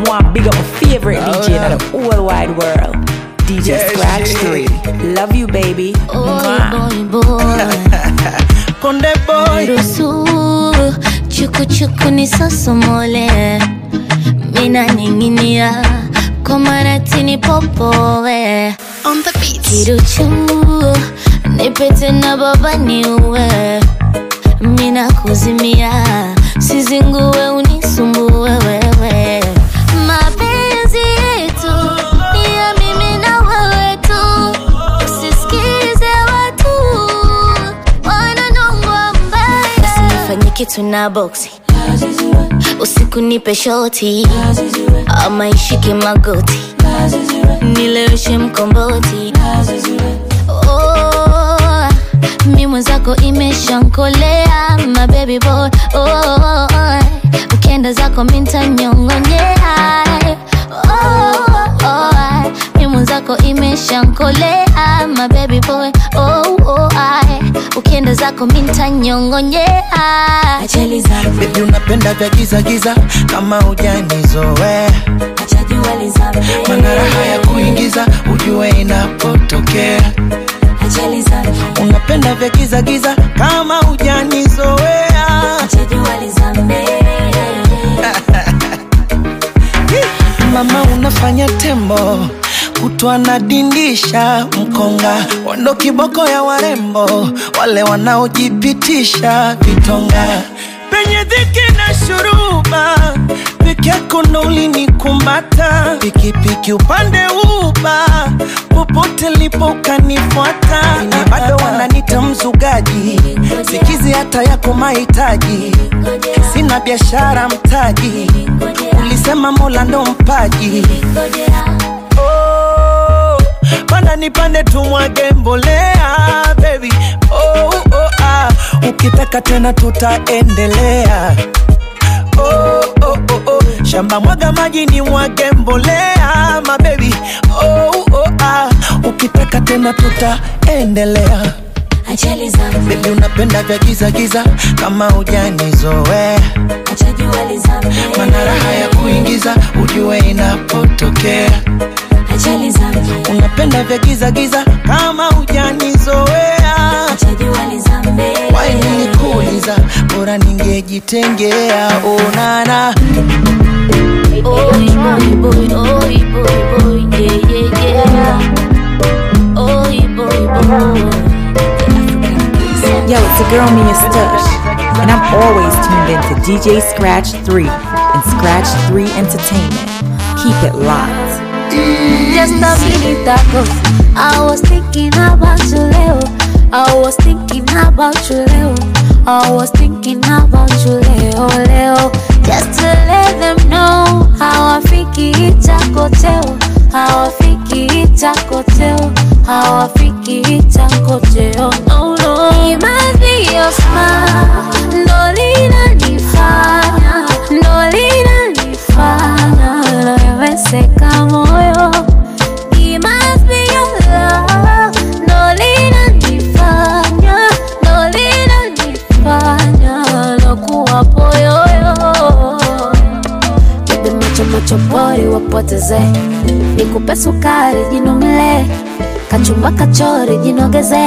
want big up my favorite DJ in the whole wide world, DJ Scratch 3. Love you, baby. Boy. Konde boy. Rusu, chuku ni sosomole. Mina ninginia, komaratini popoe. On the beat. Kiruchu, nipete na baba niwe. Mina kuzimia, sizinguwe unisumbue wewe. Mapenzi yetu ni ya mimi na wewe tu. Usisikize watu wananongwa mbaya. Usinifanye kitu na boxi, usiku nipe shoti, ama ishike magoti, nileweshe mkomboti. Mi mwenzako imeshankolea, my baby boy. Ukienda zako minta nyongonyea. Mi mwenzako imeshankolea, my baby boy. Ukienda zako minta nyongonyea. Achali zangu baby unapenda vya giza giza kama hujanizoea. acha jua lizame, Mana raha ya kuingiza ujue inapotokea. achali zangu Unapenda vya giza giza kama hujanizoea. acha jua lizame. Mama unafanya tembo, kutwa na dindisha mkonga. Wando kiboko ya warembo, wale wanaojipitisha vitonga. Penye dhiki na shuruba, peke yako ndo ulinikumbata. Pikipiki upande uba, popote lipo ukanifuata. Ni bado wananita mzugaji, sikizi hata yako mahitaji. Sina biashara mtaji, ulisema Mola ndo mpaji. Oh, panda nipande tumwage mbolea baby. Ukitaka tena tutaendelea. Shamba mwaga maji ni mwage mbolea my baby. Ukitaka tena tutaendelea. Achali zangu Baby unapenda vya giza giza kama hujanizoea. acha jua lizame, Mana raha ya kuingiza ujue inapotokea. achali zangu Unapenda vya giza giza kama hujanizoea. acha jua lizame. Why nilikuuliza bora ningejitengea. Onana Boy, boy, yeah, yeah. Boy. Yo, it's your girl Mia Stush, and I'm always tuned in to DJ Scratch 3 and Scratch 3 Entertainment. Keep it locked. Just a minute ago, I was thinking about you, Leo. I was thinking about you, Leo. I was thinking about you, Leo. Just to let them know how I think it's a hotel. How I think it's a hotel. How I think it's a hotel. No, no. It must be your smile. No lina nifanya. No lina nifanya. Wewe seka moyo. It must be your love. No lina nifanya. No lina nifanya. Lokuwa poyoyo. Bebe macho pori wapoteze. Nikupe sukari jinomile. Kachumba kachori jinogeze.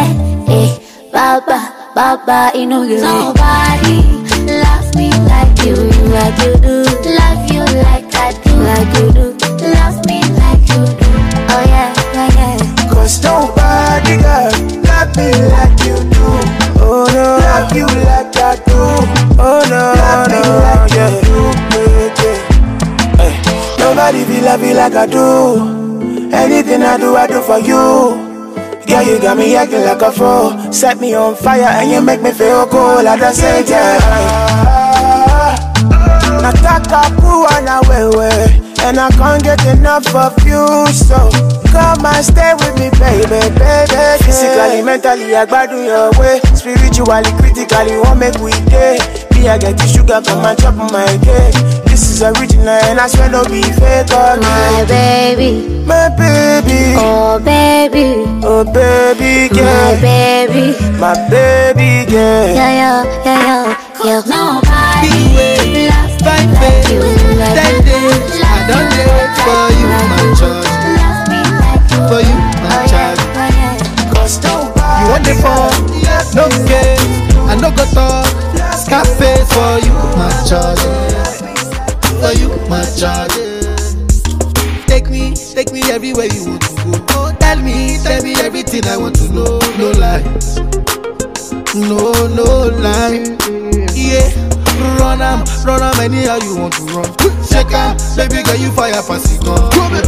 Baba inogeze. Nobody love me like you do. Love you like I do. Like you do. Love me like you do. Oh yeah. Cause nobody girl love me like you do. Oh no. Love you like I do. Oh no. Love me like you do. Hey. Nobody feel love you like I do. Anything I do for you. Girl, you got me acting like a fool. Set me on fire and you make me feel cool at the same time. Nataka kuwa na wewe, and I can't get enough of you. So come and stay with me, baby. Physically, mentally, I gotta do your way. Spiritually, critically, won't make we day. Me, I get the sugar, come and chop my cake. This is original and I swear no be fake. My baby. My baby. Oh baby. Oh baby girl. My baby. My baby girl. Yeah. Nobody Be way, loves me fine like babe. you. That day, I don't charge. For you, my charge. Take me everywhere you want to go. Tell me everything I want to know. No lies, no lie. Yeah, run am anyhow you want to run. Shake am, baby girl you fire pass it gun.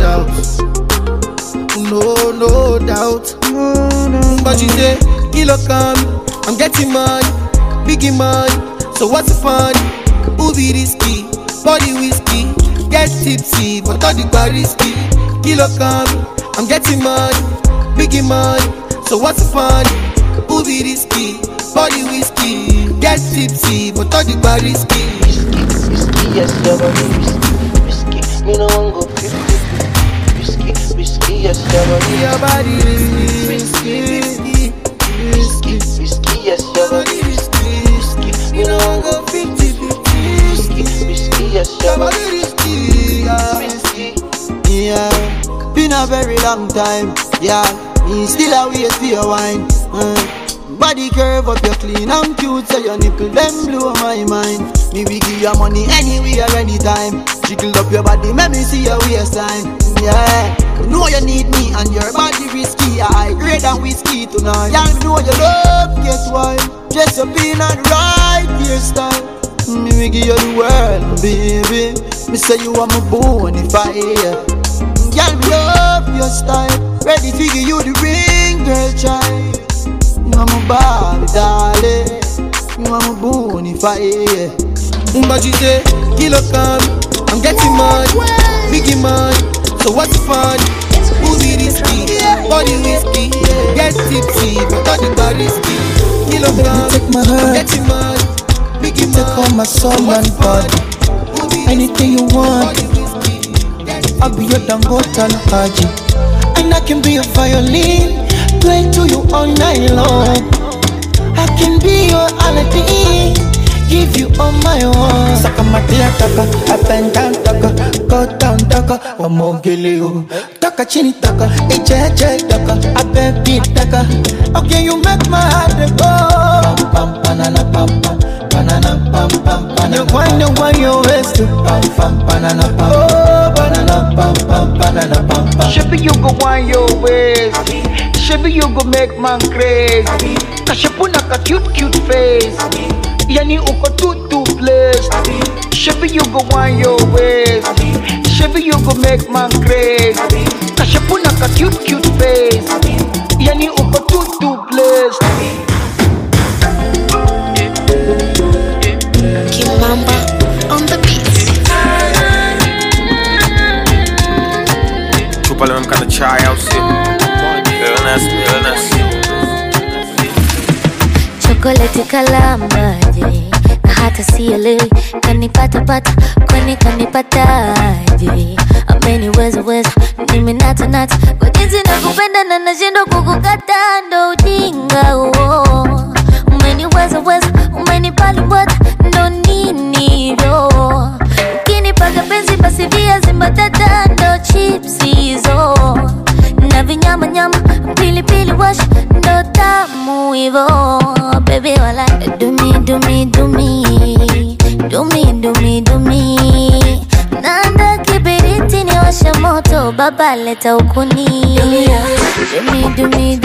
No doubt. But you say, kilo come, I'm getting money, biggie money. So what's the fun? Who be risky? Body whiskey, get tipsy, but all the bar risky. Kilo come, I'm getting money, biggie money. So what's the fun? Who be risky? Body whiskey, get tipsy, but all the bar risky. Risky, yes, your body risky. Me no one go 50. Risky, yes, your body risky. Risky, yes, your body risky. Me no one go 50. Risky, yes, your body risky. Yeah, been a very long time. Yeah, me still a wait for your wine. Body curve up, you clean and cute, so your nipple them blow my mind. Me we give you money anywhere, anytime. Jiggle up your body, make me see your waistline. Yeah, you know you need me and your body risky. I grade and whiskey tonight. Yeah, you know you love, guess why? Dress up in a right hairstyle. Me we give you the world, baby. Me say you are my bonfire. Girl, me love your style. Ready to give you the ring, girl, child. You are my Barbie, darling. You are my bonfire. But you say, kilo come, I'm getting money, biggie money. So what's the fun? Who be risky? Body whiskey, get tipsy, but all the bar risky. Kilo come, I'm getting money, biggie money. Take all my soul and body. Anything you want, I'll be your Dangote and Haji. And I can be a violin, play to you all night long. I can be your Aladdin, give you all my own. Saka matia taka, up and down taka, go down taka, wamogele taka chini taka, eche taka, abebi taka. Okay, you make my heart go. Pam pam banana pam pam, banana pam pam banana. You wonder why you waste pam pam banana pam. Oh, banana pam pam banana pam pam. Shabby you go wind your waist, shabby you go make man crazy. Kashapuna ka cute face. Yani uko too blessed. Shabby you go wind your waist, shabby you go make man crazy. Kashapuna ka cute face. Yani uko too blessed. Kimamba on the beat. Chupa leo mkanda chai au si? Illness. Chocolate kalamaje, na hata sielewi kanipata kwani kanipataje. Ameniweza mimi nata kwa jinsi nakupenda na nashindwa kukukata, ndo ujinga huo. Umeniweza umenipali ndo nini hivyo. Ukinipaga penzi basi viazi mbatata ndo chips hizo. Na vinyama pilipili wash ndo tamu hivo. Baby wala do me. Nanda kibiriti ni washa moto, baba leta ukuni. Do me.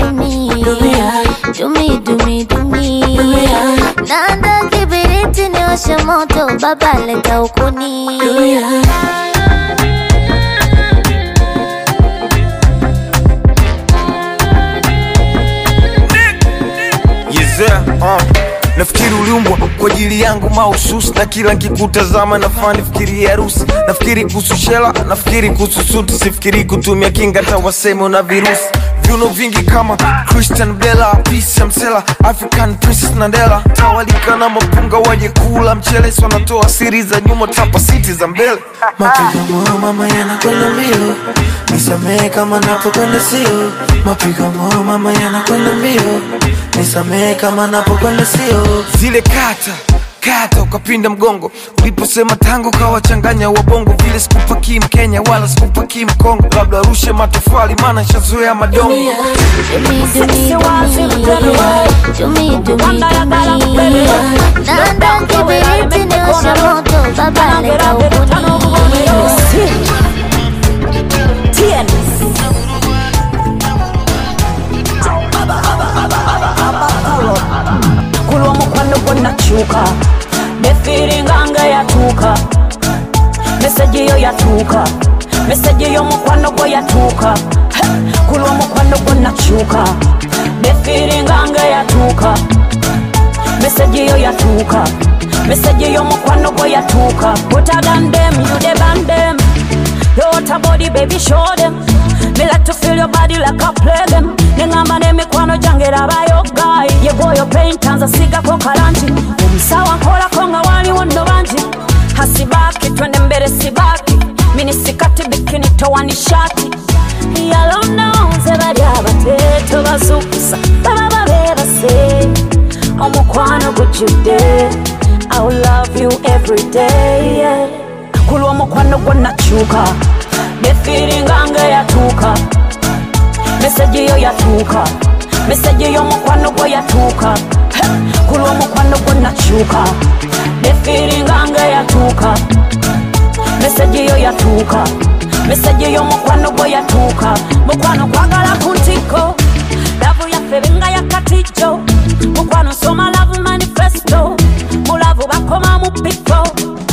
Nanda kibiriti ni washa moto, baba leta ukuni. Nafikiri uliumbwa kwa ajili yangu mahususi, na kila nikikutazama nafani fikiri harusi. Nafikiri kuhusu shela, nafikiri kuhusu suti, sifikiri kutumia kinga hata waseme una virusi. Viuno vingi kama Christian Bella, Peace Msela, African Princess Nandela. Tawalika na mapunga waje kula mchele, so natoa siri za nyuma tapa city za mbele. Mapigo mama yanakwenda mbio, nisamehe kama napokwenda sio. Mapigo mama yanakwenda mbio, nisamehe kama napokwenda sio. Zile kata kata ukapinda mgongo. Uliposema tango kawachanganya wabongo. Vile sikupaki Mkenya wala sikupaki Mkongo. Labda rushe matofali maana shazoea madongo. Kulwa mukwano gonna chuka the feeling anga yatuka message yo yatuka message yo mukwano go yatuka kulwa mukwano gonna chuka the feeling anga yatuka message yo yatuka message yo mukwano go yatuka hotter than them you the band them your water body baby show them me like to feel your body like I play them nengamba ne mikwano jangera bayo guy ye boyo paint anza siga ko karanti umsawa kola konga wali wondo banji hasibaki twende mbele sibaki mini sikati bikini towani shati yalona unze bali abateto bazukusa baba beba say omukwano gujude I will love you every day yeah. Kulwa mukwano gonna chuka the feeling anga yatuka message yo yatuka message yo mukwano go yatuka kulwa mukwano gonna chuka the feeling anga yatuka message yo yatuka message yo mukwano go yatuka mukwano kwagala kuntiko love ya febenga ya katijo mukwano soma love manifesto mulavu bakoma mu pito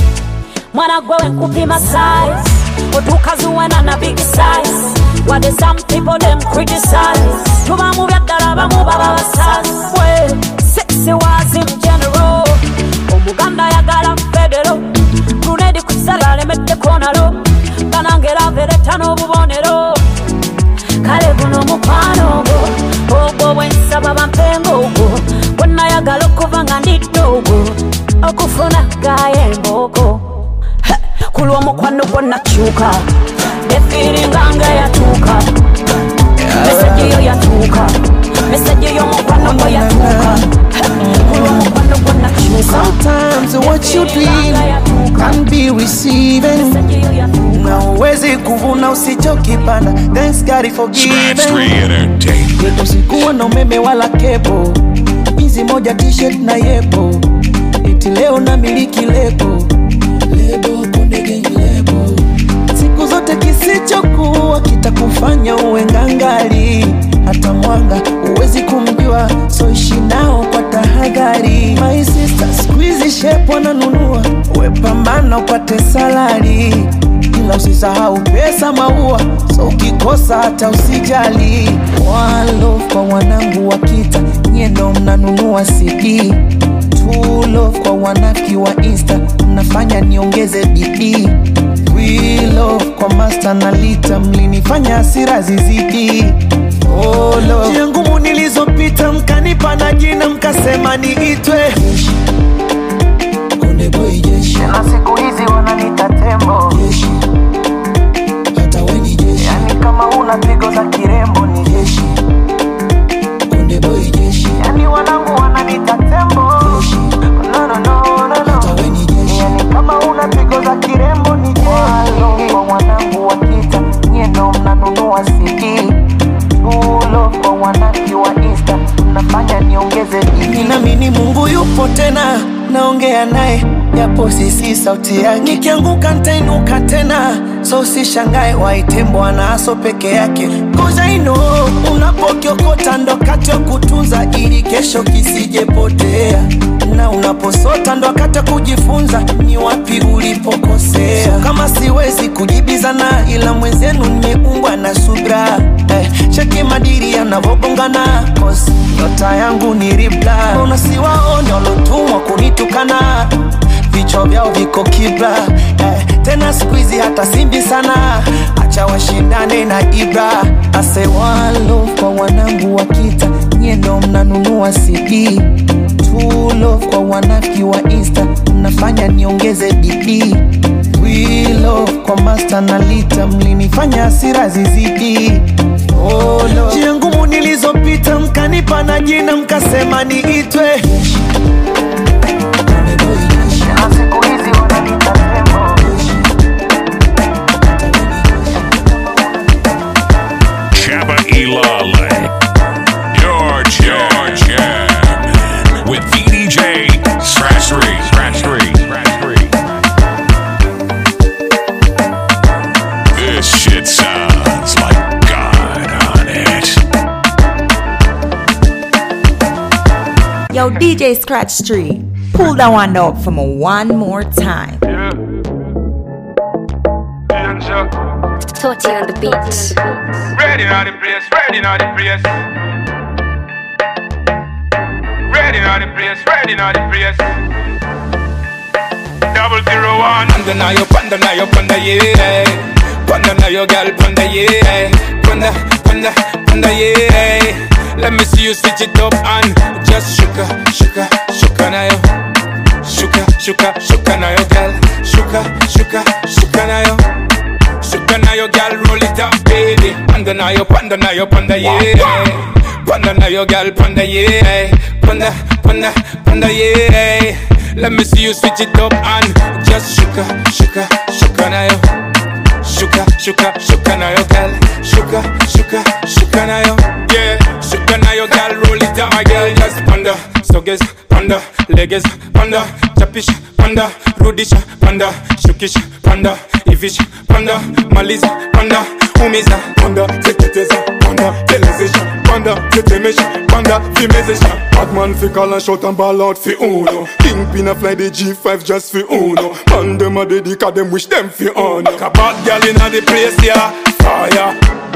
mwana gwe nkupima size otukazuwana na big size what is some people them criticize tuba mu byaddala bamu baba basaswe sexy was in general omuganda yagala federo tunedi kusala lemete konalo banangera vereta n'obubonero kale buno mukwano ogwo bwensaba bampengo ogwo bwonna yagala okuva nga ndiddogo okufuna gaye emboko kulwa mukwano gonna chuka the feeling anga yatuka message yo yatuka message yo mukwano go yatuka kulwa mukwano gonna chuka sometimes what you dream can be receiving na uwezi kuvuna usichokipanda thanks God for giving Scratch 3 Entertainment usikuwa na umeme wala kepo hizi moja t-shirt na yepo eti leo na miliki lebo siku zote kisichokuwa kitakufanya uwe ngangali hata mwanga uwezi kumjua so ishi nao kwa tahadhari my sister squeeze shape wananunua uwe pambana upate salari ila usisahau pesa maua so ukikosa hata usijali one love kwa wanangu wa kita nyendo mnanunua CD true love kwa wanaki wa Insta mnafanya niongeze bidii we love kwa master na lita mlinifanya hasira zizidi oh love njia ngumu nilizopita mkanipa na jina mkasema niitwe Konde Boy Jeshi na siku hizi wananiita tembo Jeshi hata we ni jeshi yani kama una pigo za kirembo ni jeshi Konde Boy Jeshi yani wanangu wananiita tembo Jeshi no hata we ni jeshi yani kama una pigo za kirembo ni jeshi kwa wanangu wakita nyendo mnanunua CD ulo kwa wanaki wa Insta mnafanya niongeze bidii na mimi Mungu yupo tena naongea naye yapo sisi sauti yake nikianguka nitainuka tena so usishangae waite Bwana aso peke yake cause I know unapokiokota ndo kati ya kutunza ili kesho kisijepotea na unaposota ndo wakati kujifunza ni wapi ulipokosea so kama siwezi kujibizana ila mwenzenu nimeumbwa na subra cheki madiri yanavobongana cause nyota yangu ni ribla unasiwaone walotumwa kunitukana vichwa vyao viko kibla tena squeezy hata simbi sana acha washindane na Ibra ase one love kwa wanangu wa kita nyendo mnanunua CD true love kwa wanaki wa Insta mnafanya niongeze bidii we love kwa master na lita mlinifanya hasira zizidi oh love njia ngumu nilizopita mkanipa na jina mkasema niitwe Konde Boy Yo, DJ Scratch 3, pull that one up for me one more time. Yeah. Toti on the beat. Ready on the place, ready on the place. Ready on the place, ready on the place. 001. Panda na yo, yeah. Panda na yo, girl, panda, yeah. Panda, yeah. Let me see you switch it up and just shuka na yo. Shuka na yo, girl. Shuka na yo. Shuka na yo, girl, roll it up, baby. Panda na yo, yeah. Panda na yo, girl, panda, yeah. Panda, yeah. Let me see you switch it up and just shuka na yo. Shuka na yo, girl. Shuka na yo. Yeah, shuka na yo, girl, roll it up, my girl. Just panda, stoges, panda, legs, panda, chapish, panda, rudish, panda, shukish, panda, ivish, panda, maliza, panda, umiza, panda, teketeza, panda, telezesha, panda, tetemesha, panda, fimezesha. Batman fi call and shout and ball out fi uno. Kingpin a fly the G5 just fi uno. Man dem a dedica them wish them fi honor. A bad girl inna the place, yeah, fire.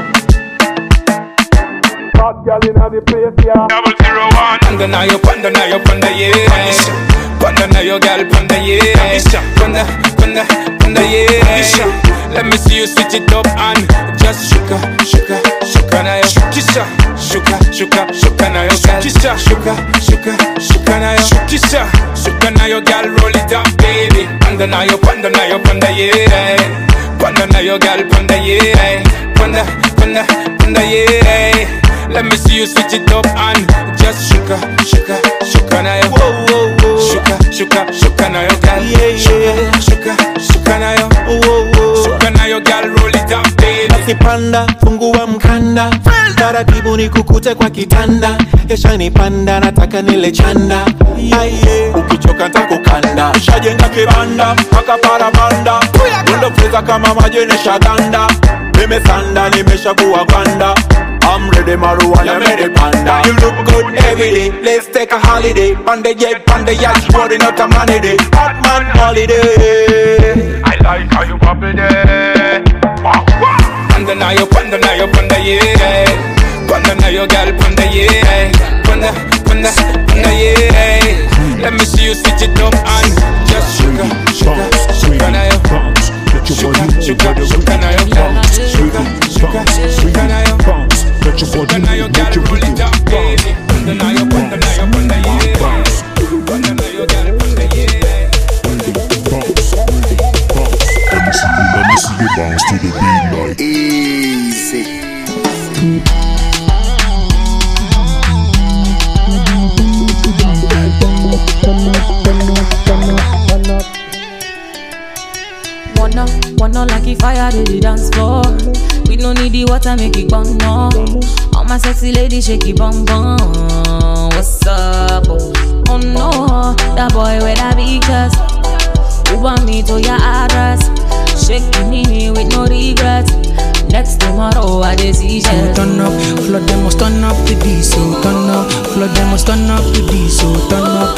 Bad girl inna the place, yeah. 001. Panda na yo, panda, yeah. Panda na yo, girl, panda, yeah. Panda, yeah. Let me see you switch it up and just shuka na yo. Shuka na yo, girl. Shuka na yo. Shuka na yo, girl, roll it up, baby. Panda na yo, panda, yeah. Panda na yo, girl, panda, yeah. Panda, yeah. Let me see you switch it up and just shuka na yo. Shuka na yo, girl. Shuka na yo. Shuka na yo, girl, roll it up, baby. Basi panda, fungua mkanda, taratibu nikukute kwa kitanda. Kesha ni panda, nataka nile chanda. Ukichoka nitakukanda. Ushajenga kibanda, paka parabanda. Mundo pesa kama majenesha ganda. Nimesanda, nimeshakuwa gwanda. I'm ready, marijuana, ready, panda. You look good every day. Let's take a holiday. Panda jet, panda yacht, rolling out a money day. Hot man holiday. I like how you bubble there. Panda na yo, panda, yeah. Panda na yo, girl, panda, yeah. Panda, yeah. Let me see you switch it up and just shuka na yo. Shuka na yo, girl. Shuka na yo. Let your body move, let your body down, baby. Panda na yo, panda, yeah. Panda na yo, girl, panda, yeah. Let me see you bounce to the beat like Easy. Wanna like if fire to the dance floor. We don't need the water, make it burn no. All my sexy ladies shake it bum bum. What's up? Oh no, that boy with that big chest. Who want me to your address? Shaking me with no regret. Next tomorrow I decision. Turn up, flood them must turn up the diesel. Turn up, flood them must turn up the diesel. Turn up.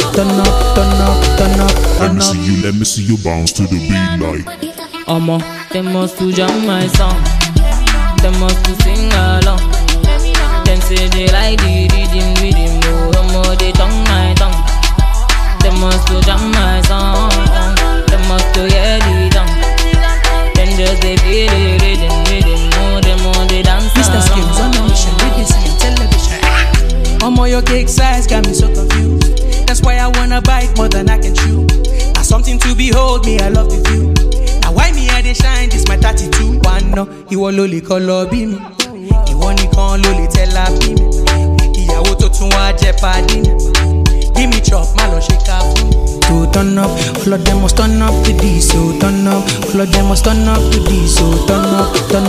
Let me see you bounce to the beat like They must to jam my song. They must to sing along. Them say they like the rhythm. No, they tongue my tongue. They must to jam my song. They must to hear the tongue. Then just they feel the rhythm. No, they dance. Mr. Skills on a mission, BBC and television. Your cake size got me so confused. That's why I wanna bite more than I can chew. Now something to behold, me I love the view. Now why me I dey shine, this my 32. One no, he want loli color be me. He want he can loli tell her be me. Ìyàwó tó tún wá jẹ́ pàdé mi. Give me chop, man, no shake up. To turn up, flood them must turn up the diesel. Turn up, flood them must turn up the diesel. Turn up.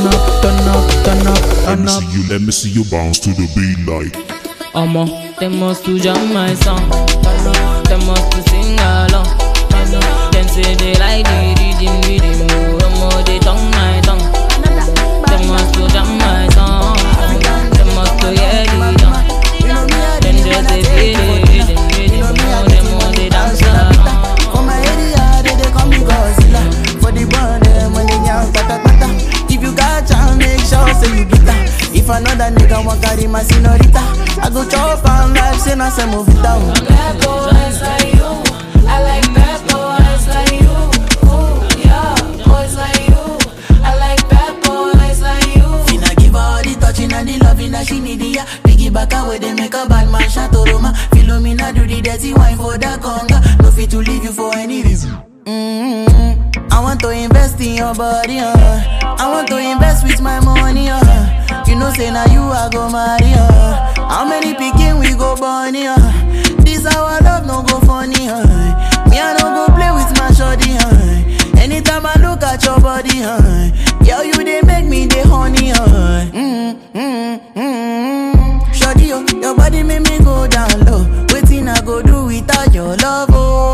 Let me see you bounce to the beat like they must to jam my song. They must to sing along. Then say they like the rhythm. No, they tongue my tongue. They must to jam my song. They must to hear the tongue. Then just they feel the rhythm. If another nigga want carry my senorita, I go chop and life, say na say move it down. Bad boys like you, I like bad boys like you. Ooh, yeah, boys like you, I like bad boys like you. Finna give her all the touching and the loving that she need, yeah. Back away, they make a bad man shot Roma. Philomena do the dirty wine for the conga. No fit to leave you for any reason. I want to invest in your body, I want to invest with my money, You know say now you I go marry, How many picking we go bunny, This our love no go funny, Me I don't go play with my shorty, Anytime I look at your body, Girl you they make me the honey, Shorty, your body make me go down low. Waiting I go do without your love, oh.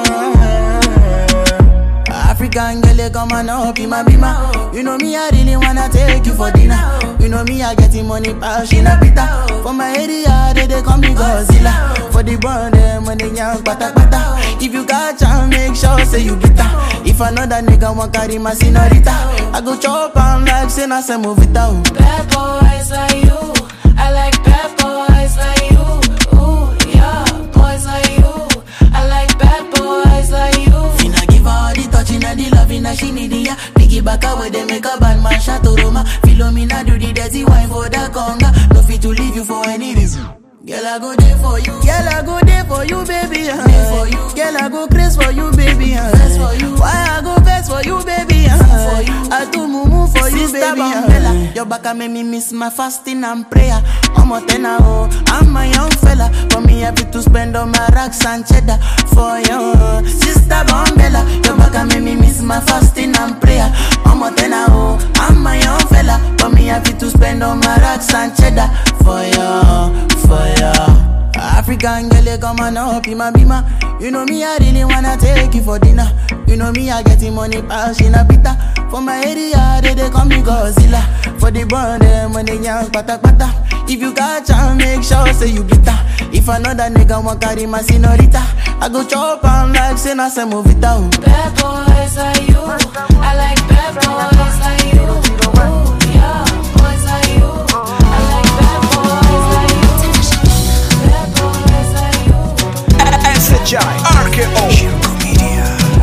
African girl, come on up, be my bima. You know me, I really wanna take you for dinner. You know me, I getting money, passion, a pita. For my area, they call me Godzilla. For the bond, when they young, pata pata. If you got chance, make sure say you get that. If another nigga want carry my senorita, I go chop and life, say na say move it out. Bad boys like you, I like bad boys like you. Ooh, yeah, boys like you, I like bad boys like you. Finna give her all the touching and the loving that she need, yeah. Back away, they make a bad man shot Roma. Philomena do the dirty wine for the conga. No fit to leave you for any reason. Girl, I go there for you. Girl, I go there for you, baby. For you. Girl, I go crazy for you, baby. For you. Why I go best for you, baby. For you. I do mumu for you, Sister baby. Bambella. Your back make me miss my fasting and prayer. I'm a tenor, I'm a young fella. For me, happy to spend on my racks and cheddar. For you, Sister Bambella. Your back make me miss my fasting and prayer. I'm a tenor, I'm a young fella. For me, happy to spend on my racks and cheddar. For you, for you. African girl, come on up, be my bima. You know me, I really wanna take you for dinner. You know me, I getting money, passion, a pita. For my area, they call me Godzilla. For the bond, when they young, pata pata. If you got chance, make sure say you get that. If another nigga want carry my senorita, I go chop and life, say na say move it out. Bad boys like you, I like bad boys like you. Ooh, yeah, boys like you, I like bad boys like you. Bad boys like you. SHI, RKO, Shirko Media.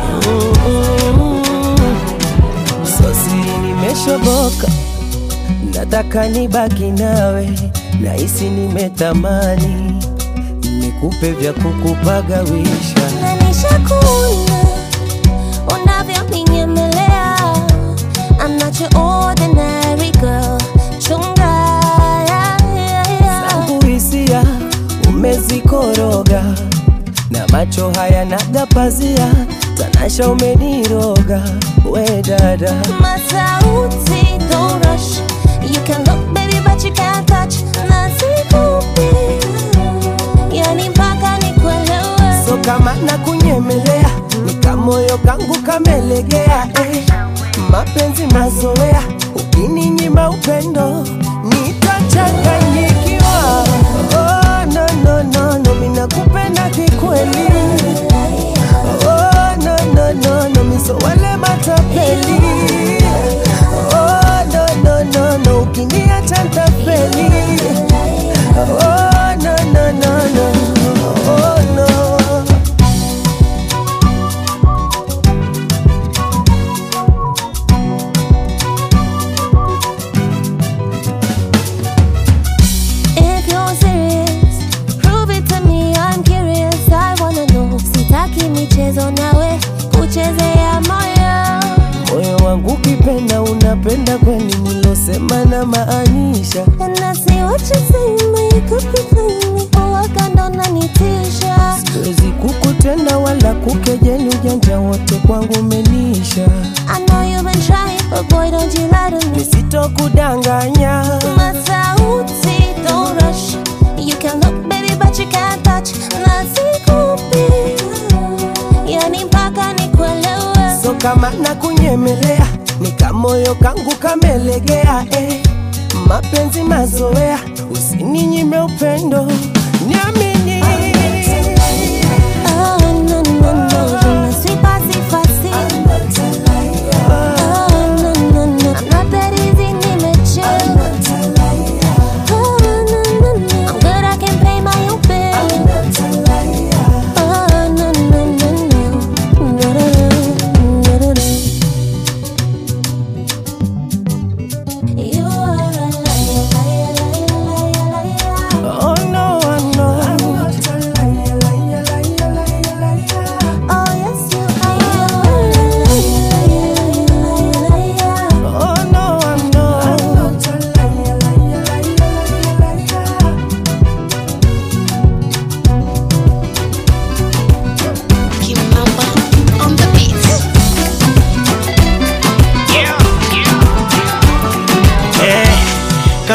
Sosi nimeshoboka, nataka nibaki nawe, nahisi nimetamani nikupe vya kukupagawisha. Na nishakuona unavyoniyemelea. I'm not your ordinary girl. Chunga, zangu hisia umezikoroga, na macho haya nagapazia, tanasha umeniroga, we dada. Masauti, don't rush. You can look baby but you can't touch. Nasikupi, yani mpaka nikuelewe. So kama nakunyemelea, nikamoyo kangu kamelegea, mapenzi mazoea, ukininyima upendo nitachanganyikiwa. Oh no no no no, mimi nakupenda kikweli. Oh no no no no, mimi so wale matapeli. Oh no no no no, ukiniacha nitafeli. Oh no no no no, oh no. If you're serious, prove it to me, I'm curious, I wanna know. Sitaki michezo nawe, kuchezea moyo. Moyo wangu ukipenda unapenda kweli, nilosema na maanisha. And I see what you say, you could be clean. Uwaka ndo nanitisha. Siwezi kukutenda wala kukejeli, ujanja wote kwangu umenisha. I know you've been trying, but boy don't you lie to me. Nisitokudanganya. Masauti, don't rush. You can look baby but you can't touch. Nasikupi, yani mpaka nikuelewe. So kama nakunyemelea, nikamoyo kangu kamelegea, mapenzi mazoea, usininyime upendo, niamini. Oh no no no, je ne suis pas si facile. Oh no no no, I'm not that easy, nimechill.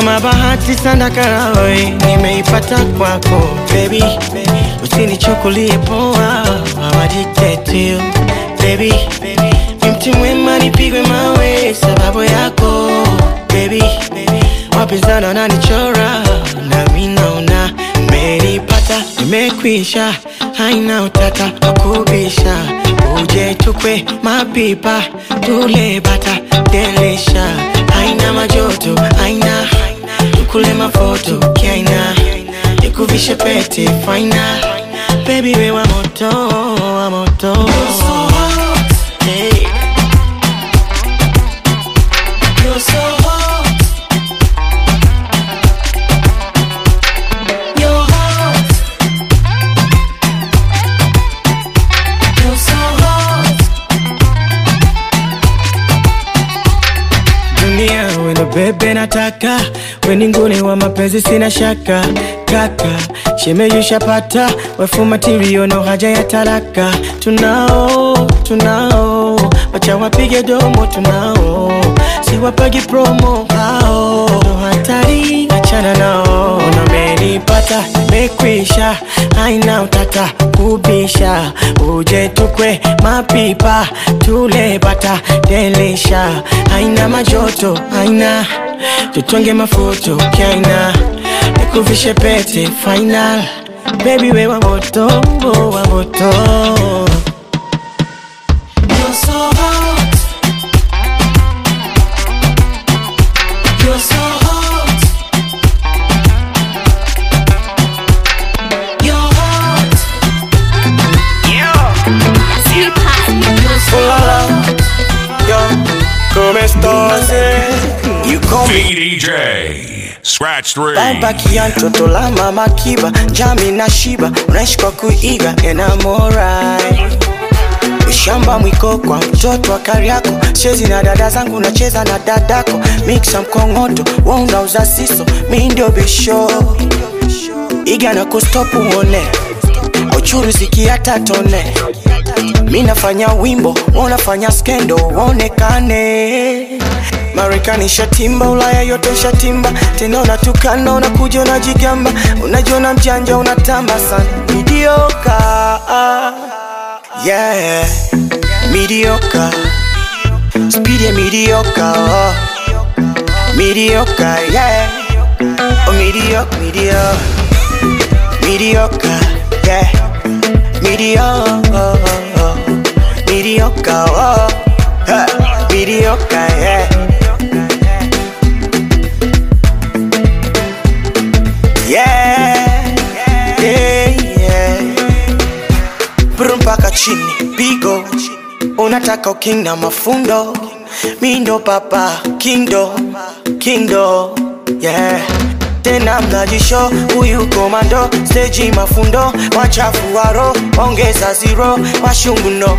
Kama bahati sana karawe nimeipata kwako baby, usinichukulie poa, I'm addicted to you baby. Ni mti mwema nipigwe mawe sababu yako baby. Wapinzani wananichora na mimi naona nimeipata, nimekwisha, haina utata wakubisha. Uje tukwe mapipa tule bata delisha, haina majoto, haina tukule mafoto kiaina, nikuvishe pete faina baby, we wa moto, wa moto. Hey. You're so hot. You're hot. You're so hot. Dunia weno bebe nataka, weni ngune wa mapenzi sina shaka. Kaka, shemeji shapata, wefu material no haja ya talaka. Tunao, wacha wapige domo tunao, si wapagi promo hao. No hatari, achana nao, unamenipata, mekwisha, haina utata kubisha. Uje tukwe mapipa, tule bata delisha, haina majoto, haina tutonge mafoto kiaina, nikuvishe pete final baby, we wa moto, wa moto. You're so hot. You're so hot. You're hot. You're so hot. Yo, come estás? You come DJ Scratch 3. Baki ya mtoto la mama kiba, jami na shiba, unaishi kwa kuiga and I'm alright. Shamba mwiko kwa mtoto wa Kariako, chezi na dada zangu nacheza na dadako, mixa mkongoto, wonga uza siso, mi ndio bisho. Iga na kustopu uone, uchuru ziki hata tone. Mi nafanya wimbo, wanafanya skendo, waonekane. Marekani shatimba, Ulaya yote shatimba. Tena unatukana, unakuja unajigamba, unajiona mjanja, unatamba sana. Mediocre, yeah, mediocre. Speed ya mediocre, oh. Mediocre, yeah. Oh, mediocre, mediocre. Mediocre, yeah. Mediocre, mediocre, oh. Mediocre, yeah. Yeah, yeah, yeah. Mpaka chini, pigo. Unataka king na mafundo, mindo papa, kindo, yeah. Tena mnajisho, huyu komando, stage mafundo, wachafu waro, ongeza zero, washungu no,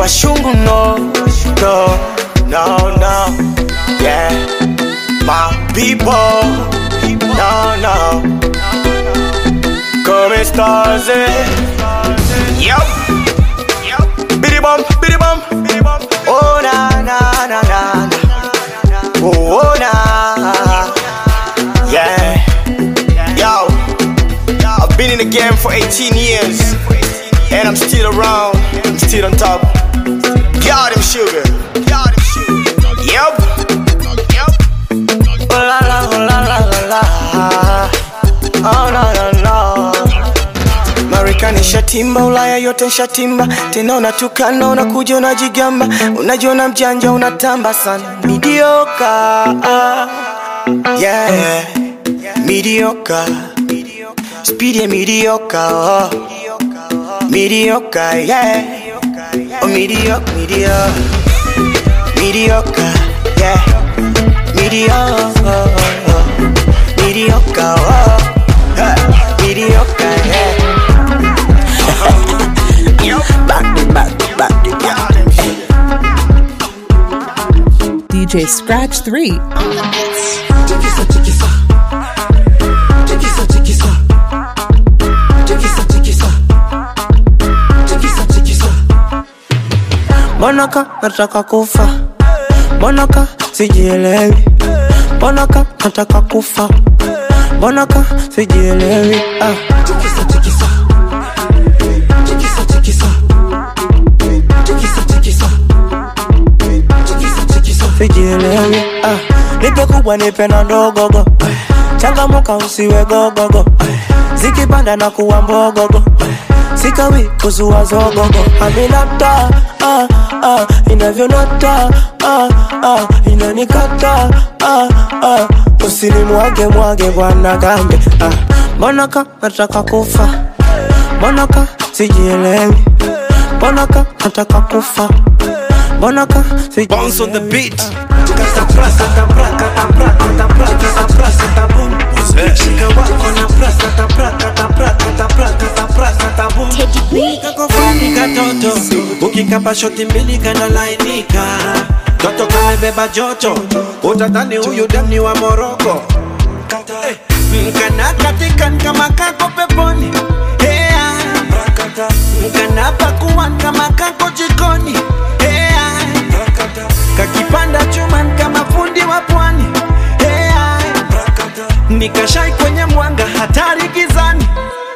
no, yeah. My people, no, come estás, yup. Biddy bum, oh na, oh na, yeah. Yo, I've been in the game for 18 years, and I'm still around, I'm still on top. Got him sugar, yup. Oh la la, oh la la la la, oh no no no. Marekani shatimba, Ulaya yote shatimba. Tena unatukana, unakuja unajigamba, unajiona mjanja, unatamba sana. Mediocre, yeah, mediocre. Speed ya mediocre, oh. Mediocre, yeah. Oh, mediocre, yeah. Mediocre, oh. Mediocre, yeah. Back, DJ Scratch 3. Monaka nataka kufa, Monaka sijielewi, mbona ka nataka kufa, mbona ka sijielewi. Tikisa tikisa, tikisa tikisa, tikisa tikisa, tikisa tikisa, sijielewi. Nipe kubwa nipe na ndogogo, changamuka usiwe gogogo, zikipanda na kuwa mbogogo, sikawi kuzua zogogo. Aminata, inavyonata, inanikata, usinimwage mwage bwana gambe. Mbona ka nataka kufa, mbona ka sijielewi, mbona ka nataka kufa, mbona ka sijielewi. Bounce on the beat. Kakofani katoto, ukikapa shoti mbili kana lainika. Toto kamebeba joto, utadhani huyu demni wa Moroko. Mkana katika kama kako peponi, mkana pakuan kama kako jikoni, kakipanda chuman kama fundi wa pwani, nikashai kwenye mwanga hatari gizani.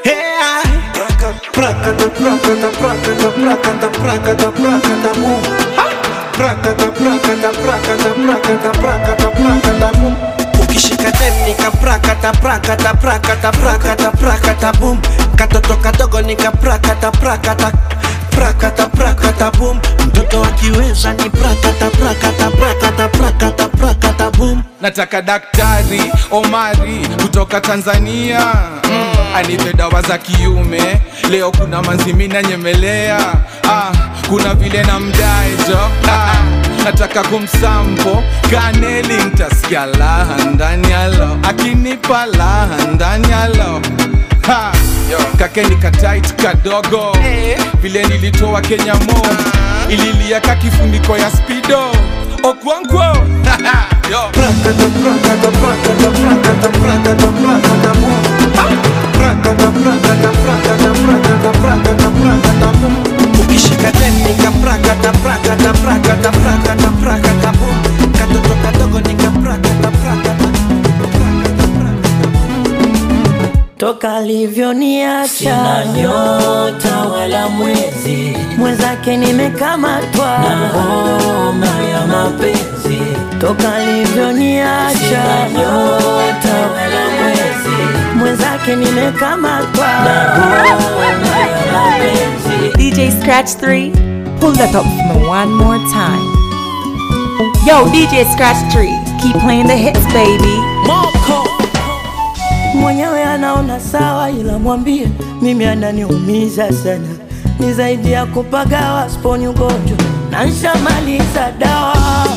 Prakata, prakata, prakata, prakata, prakata, prakata, boom. Prakata, prakata, prakata, prakata, prakata, prakata, boom. Ukishika dem nika prakata, prakata, prakata, prakata, prakata, boom. Katoto kadogo nika prakata, prakata, prakata, prakata, boom. Mtoto akiweza ni prakata, prakata, prakata, prakata, prakata, boom. Nataka daktari Omari kutoka Tanzania, anipe dawa za kiume. Leo kuna manzimina nyemelea, kuna vile na mdaejo, nataka kumsampo kaneli, ntasikia laha ndani yalo, akinipa laha ndani yalo. Kakeni katight kadogo, vile nilitoa Kenya mo, ililia kakifuniko ya speedo. Okwankwo Prakata, prakata, prakata, prakata, prakata, prakata, boom. Prakata, prakata, prakata, prakata, prakata, prakata, boom. Ukishika dem nika prakata, prakata, prakata, prakata, prakata, boom. Katoto kadogo nika prakata, prakata, prakata, prakata. Toka alivyoniacha sina nyota wala mwezi, mwenzake nimekamatwa na homa ya mapenzi. Toka alivyoniacha sina nyota wala mwezi, mwenzake nimekamatwa na homa ya mapenzi. DJ Scratch 3, pull that up for me one more time. Yo, DJ Scratch 3, keep playing the hits, baby. Moko mwenyewe anaona sawa, ila mwambie mimi ananiumiza sana. Ni zaidi ya kupagawa, sponi ugonjwa na nshamaliza dawa.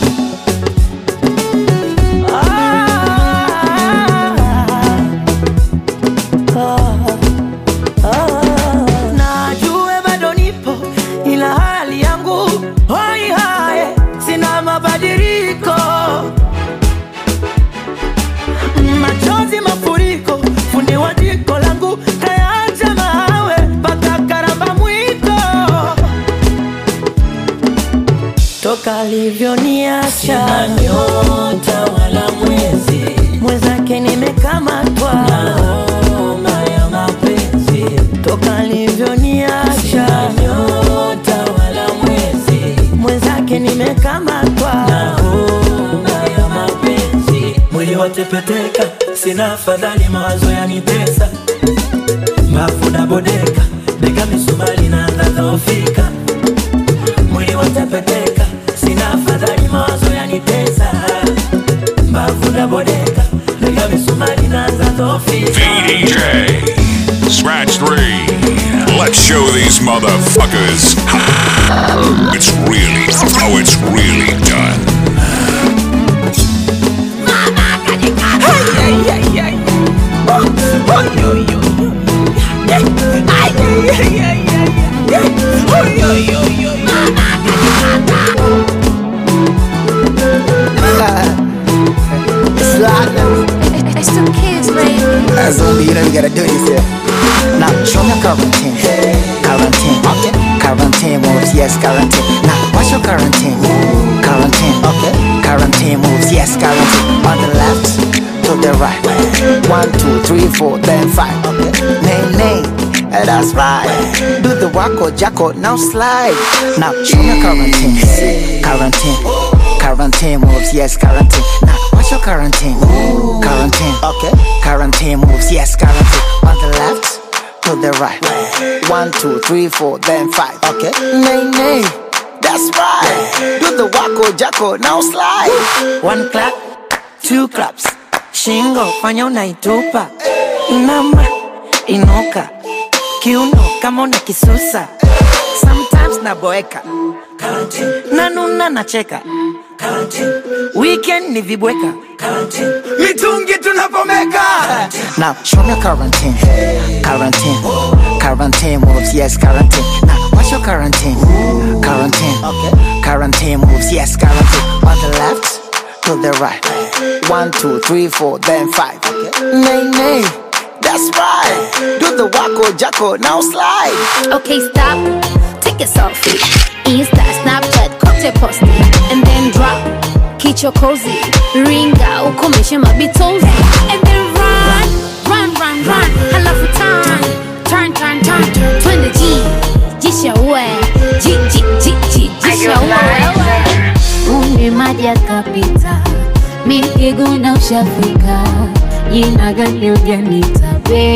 Najue bado nipo, ila hali yangu hoi hae, sina mabadiliko. Machozi mafuriko, fundi wa jiko langu kayaacha mawe mpaka karamba mwiko. Toka alivyoniacha sina nyota wala mwezi, mwenzake nimekamatwa na homa ya mapenzi. Toka alivyoniacha sina nyota wala mwezi, mwenzake nimekamatwa na homa ya mapenzi. Mwili watepeteka, sina afadhali, mawazo yanitesa, mbavu na bodeka, bega misumari na dhofika. Mwili watepeteka, sina afadhali, mawazo yanitesa, mbavu na bodeka, bega misumari na dhofika. DJ Scratch 3. Let's show these motherfuckers how it's really done. It's the kids, baby. As only you don't gotta do this here. Now show me quarantine. Quarantine, okay. Quarantine moves, yes, quarantine. Now what's your quarantine? Quarantine, okay. Quarantine moves, yes, quarantine. On the left, the right. 1, 2, 3, 4, then 5. Okay. Nay, that's right. Do the wacko jacko, now slide. Now show me quarantine. Quarantine moves, yes, quarantine. Now what's your quarantine? Quarantine, okay. Quarantine moves, yes, quarantine. On the left, to the right. 1, 2, 3, 4, then 5. Okay. Nay, that's right. Do the wacko jacko, now slide. 1 clap, 2 claps. Shingo, fanya unaitupa. Inama, inuka. Kiuno, kama una kisusa. Sometimes naboeka. Nanuna nacheka. Weekend ni vibweka. Mitungi tunapomeka. Now show me quarantine. Quarantine moves, yes, quarantine. Now what's your quarantine? Quarantine, okay. Quarantine moves, yes, quarantine. On the left, to the right. 1, 2, 3, 4, then 5. Okay. Nay, that's right. Do the wacko jacko, now slide. Okay, stop. Take a selfie. Insta, Snapchat, cocktail posting, and then drop. Kicho cozy, ringa, ukomeshe mabitozi, and then run. Halafu turn. Twende jisha uwe, jisha uwe. Maji yakapita, mikiguna ushafika. Jina gani ujanita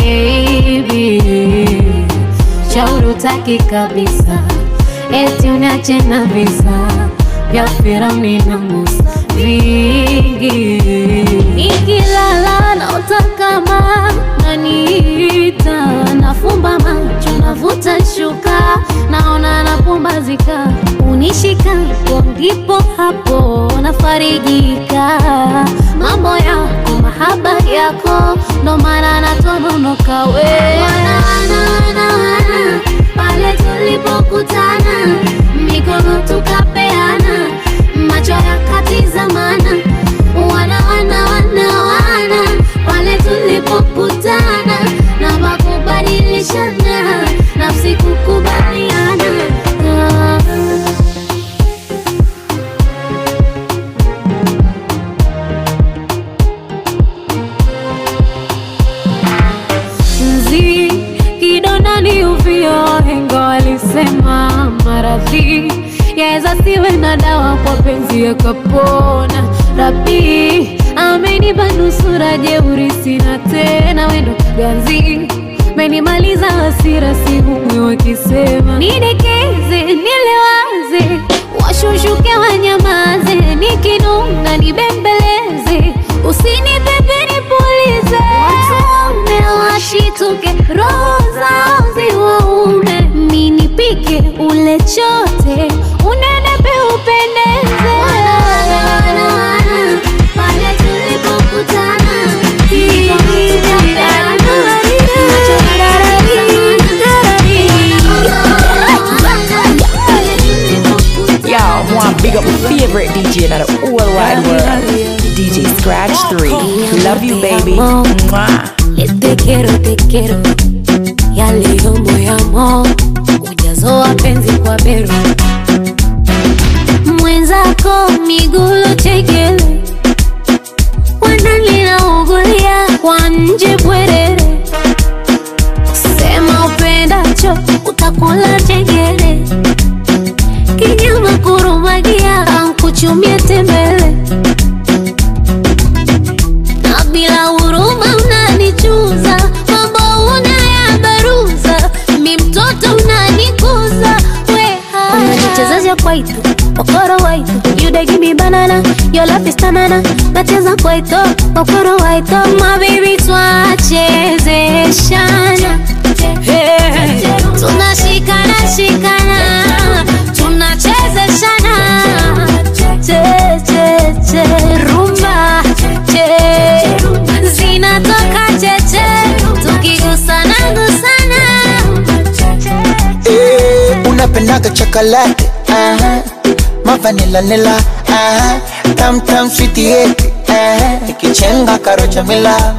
baby? Shauri utaki kabisa, eti uniache na visa vya Firauni na Musa vingi. Nikilala naota kama naniita, nafumba macho navuta shuka, naona napumbazika. Unishika ndipo hapo nafarijika. Mambo yako mahaba yako, ndo maana natononoka we. Wana pale tulipokutana, mikono tukapeana, macho yakatizamana. Wana pale tulipokutana, na makubadilishana, nafsi kukubaliana. Kidonani uvio, hengo alisema maradhi yaeza siwe na dawa, kwa penzi yakapona. Rabi amenipa nusura, jeuri sina tena, wendo ganzi menimaliza hasira, sihumwi wakisema nidekeze, nilewaze, washushuke wanyamaze, nikinunga nibembeleze, usinipepe nipulize. Watume washituke, roho zao ziwaume, minipike ule chote, unenepe upendeze. Wana pale tulipokutana, Y'all want big up my favorite DJ in the whole wide world, DJ Scratch 3. Love you, baby. Mwah. Te quiero, ya leo moyamo, ujazo wa penzi kwa bero. Mwenzako migulo chekele, wanalina ugulia kwa nje bwerere. Sema upendacho, utakula chekele. Kinyama kurumagia, kuchumia tembele. Na bila huruma unanichuza, mambo unayabaruza, mi mtoto unanikuza. Weha unanichezesha kwaito, okoro waito. You dey give me banana, your love is tanana. Nacheza kwaito, okoro waito. My baby twachezeshana, hey. Tunashikana, tunachezeshana. Che, rumba, che, zinatoka cheche, tukigusana gusana. Unapendaga chocolate, mavanilla, tam sweetie, ikichenga karocha mila,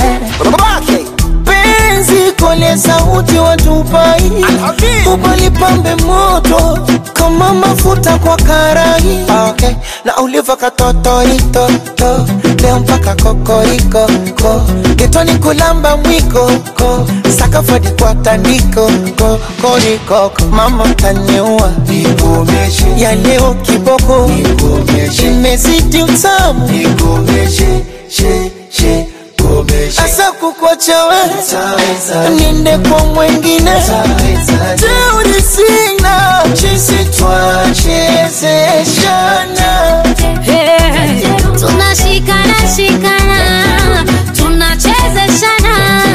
penzi kole sauti watupai, ubalipambe moto kama mafuta kwa karai. Okay, na uliva katotorito, leo geto mpaka kokoriko ko getoni kulamba mwiko ko sakafadi kwa tandiko ko koriko mama taniua nikomeshe ya leo kiboko nikomeshe imezidi utamu nikomeshe she asa kukwacha wewe niende kwa mwengine teuri sina chisi twachezeshana tunashikana tunachezeshana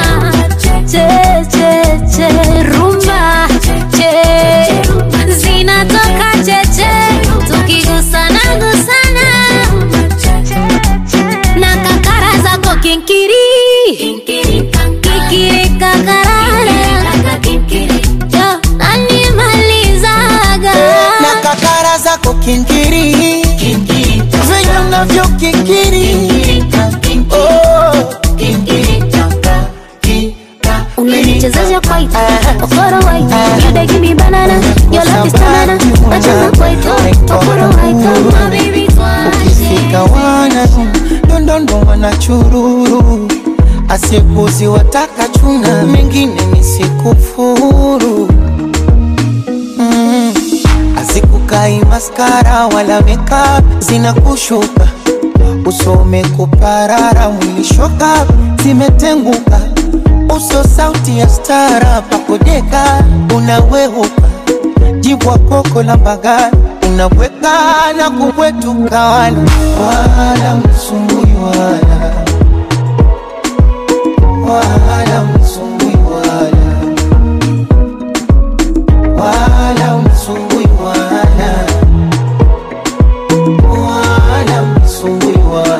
che rumba che zinatoka cheche tukigusana gusana na kakara zako kinkiri kakarara yo nanimalizaga na kakara zako kinkiri venye unavyo kikiri unanichezesha kwaito okoro waito you dey give me banana your love is banana nacheza kwaito okoro waito my baby ukifika wana dondondo wanachururu asikuzi wataka chuna mengine nisikufuru asikukai maskara wala meka zinakushuka usome kuparara mwilishoka zimetenguka uso sauti ya stara pakodeka unawehuka jibwa koko la bagani unaweka na kubwetuka wala msumbui wala msumbui wala msumbui wala msumbui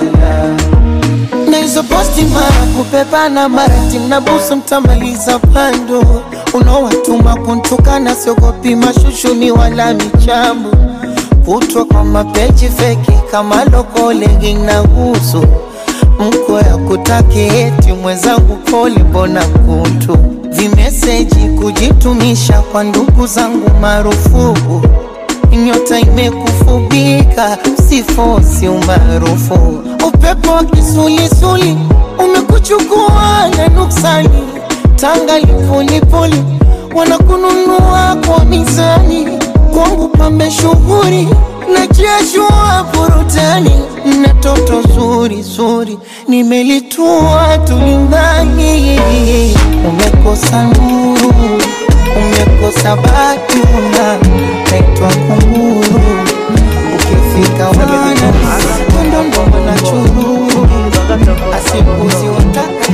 na hizo posti mara kupepana mara timna busu mtamaliza pando unawatuma kuntukana siogopi mashushuni wala michambo kutwa kwa mapeji feki kama loko legging na uso mko ya kutaki eti mwenzangu pole mbona kuntu vimeseji kujitumisha kwa ndugu zangu marufuku nyota imekufubika sifosi umaarufu upepo wa kisulisuli umekuchukua na nuksani tanga lipulipuli wanakununua kwa mizani kwangu pambe shughuri na kiashua burutani na toto zuri nimelitua tulimbani umekosa nuru umekosa batuna naitwa kunguru ukifika wana kondondo na chururu asikuzi wataka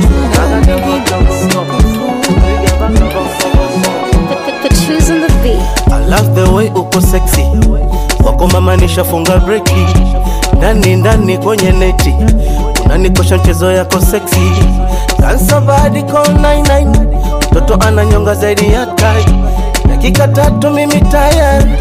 I love the way uko sexy wako mama nishafunga breki ndani kwenye neti unanikosha mchezo yako sexy dance body call 99 mtoto ananyonga zaidi ya tai dakika 3 mimi tayari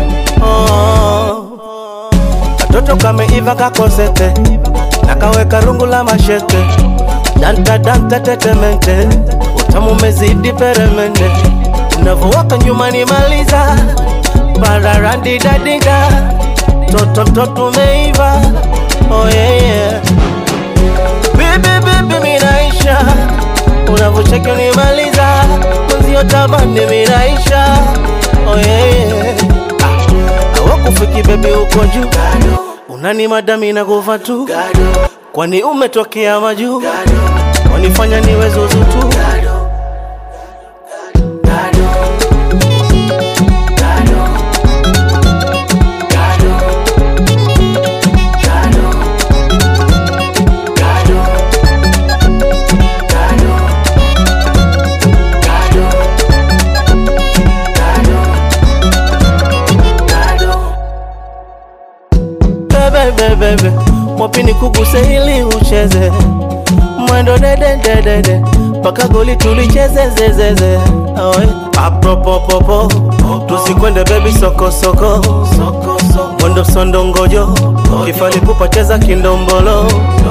katoto kameiva kakosete nakaweka rungu la mashete danta tetemente utamu mezidi peremende unavowaka nyuma nimaliza bararandi dadida toto meiva oh yeah baby minaisha unavocheki unimaliza mwenzio tabani minaisha oh yeah awakufiki baby uko juu unani madami na kufa tu kwani umetokea majuu wanifanya niwe zuzu tu Bebe, mwapini kuguse hili ucheze mwendo dede paka goli tulicheze zezeze apropopopo tusikwende baby soko mwendo sondo ngojo kifali kupacheza kindombolo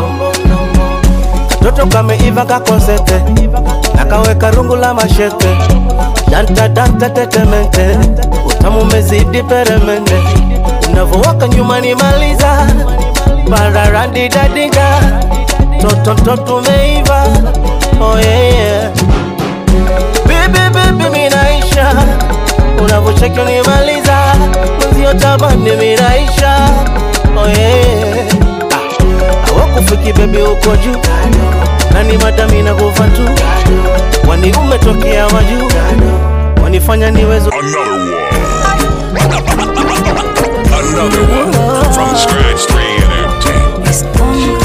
toto kameiva kakosete nakaweka rungu la mashete danta tetemente utamu mezidi peremende unavowaka nyuma nimaliza bararandi dadida toto umeiva, oh yeah. Baby minaisha, unavocheki unimaliza, mwenzio tabani minaisha, oh yeah. Hawakufiki baby uko juu, nani madami na kufa tu, wani umetokea wajuu, wanifanya niwezo. Another one from Scratch 3 Entertainment.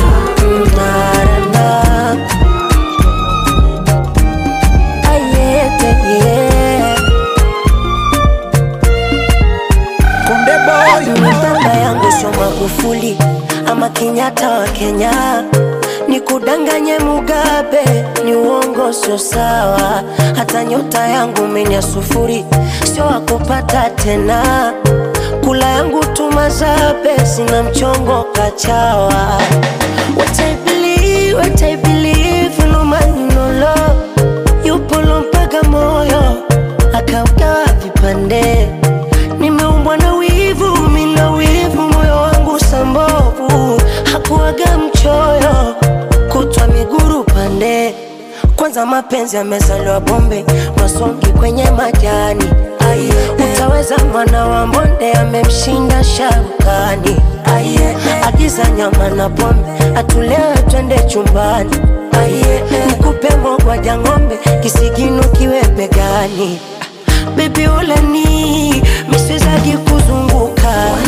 Konde boy, baba yangu sio Magufuli ama Kenyatta wa Kenya, nikudanganye Mugabe ni uongo, sio sawa. Hata nyota yangu menya sufuri, sio wakupata tena. Kula yangu tumazabe, sina mchongo kachawa. What I believe, no man no love. Yupo mpaka moyo, akaugawa vipande. Nimeumbwa na wivu, mina wivu, moyo wangu sambovu. Hakuwaga mchoyo, kutwa miguru pande. Kwanza mapenzi yamezaliwa bombe, masongi kwenye majani. Utaweza mwana wa mbonde, amemshinda Sharukani. Agiza nyama na pombe, atulewe twende chumbani. Nikupe mogwa ng'ombe, kisigino kiwe begani. Baby ulani, miswezagi kuzunguka.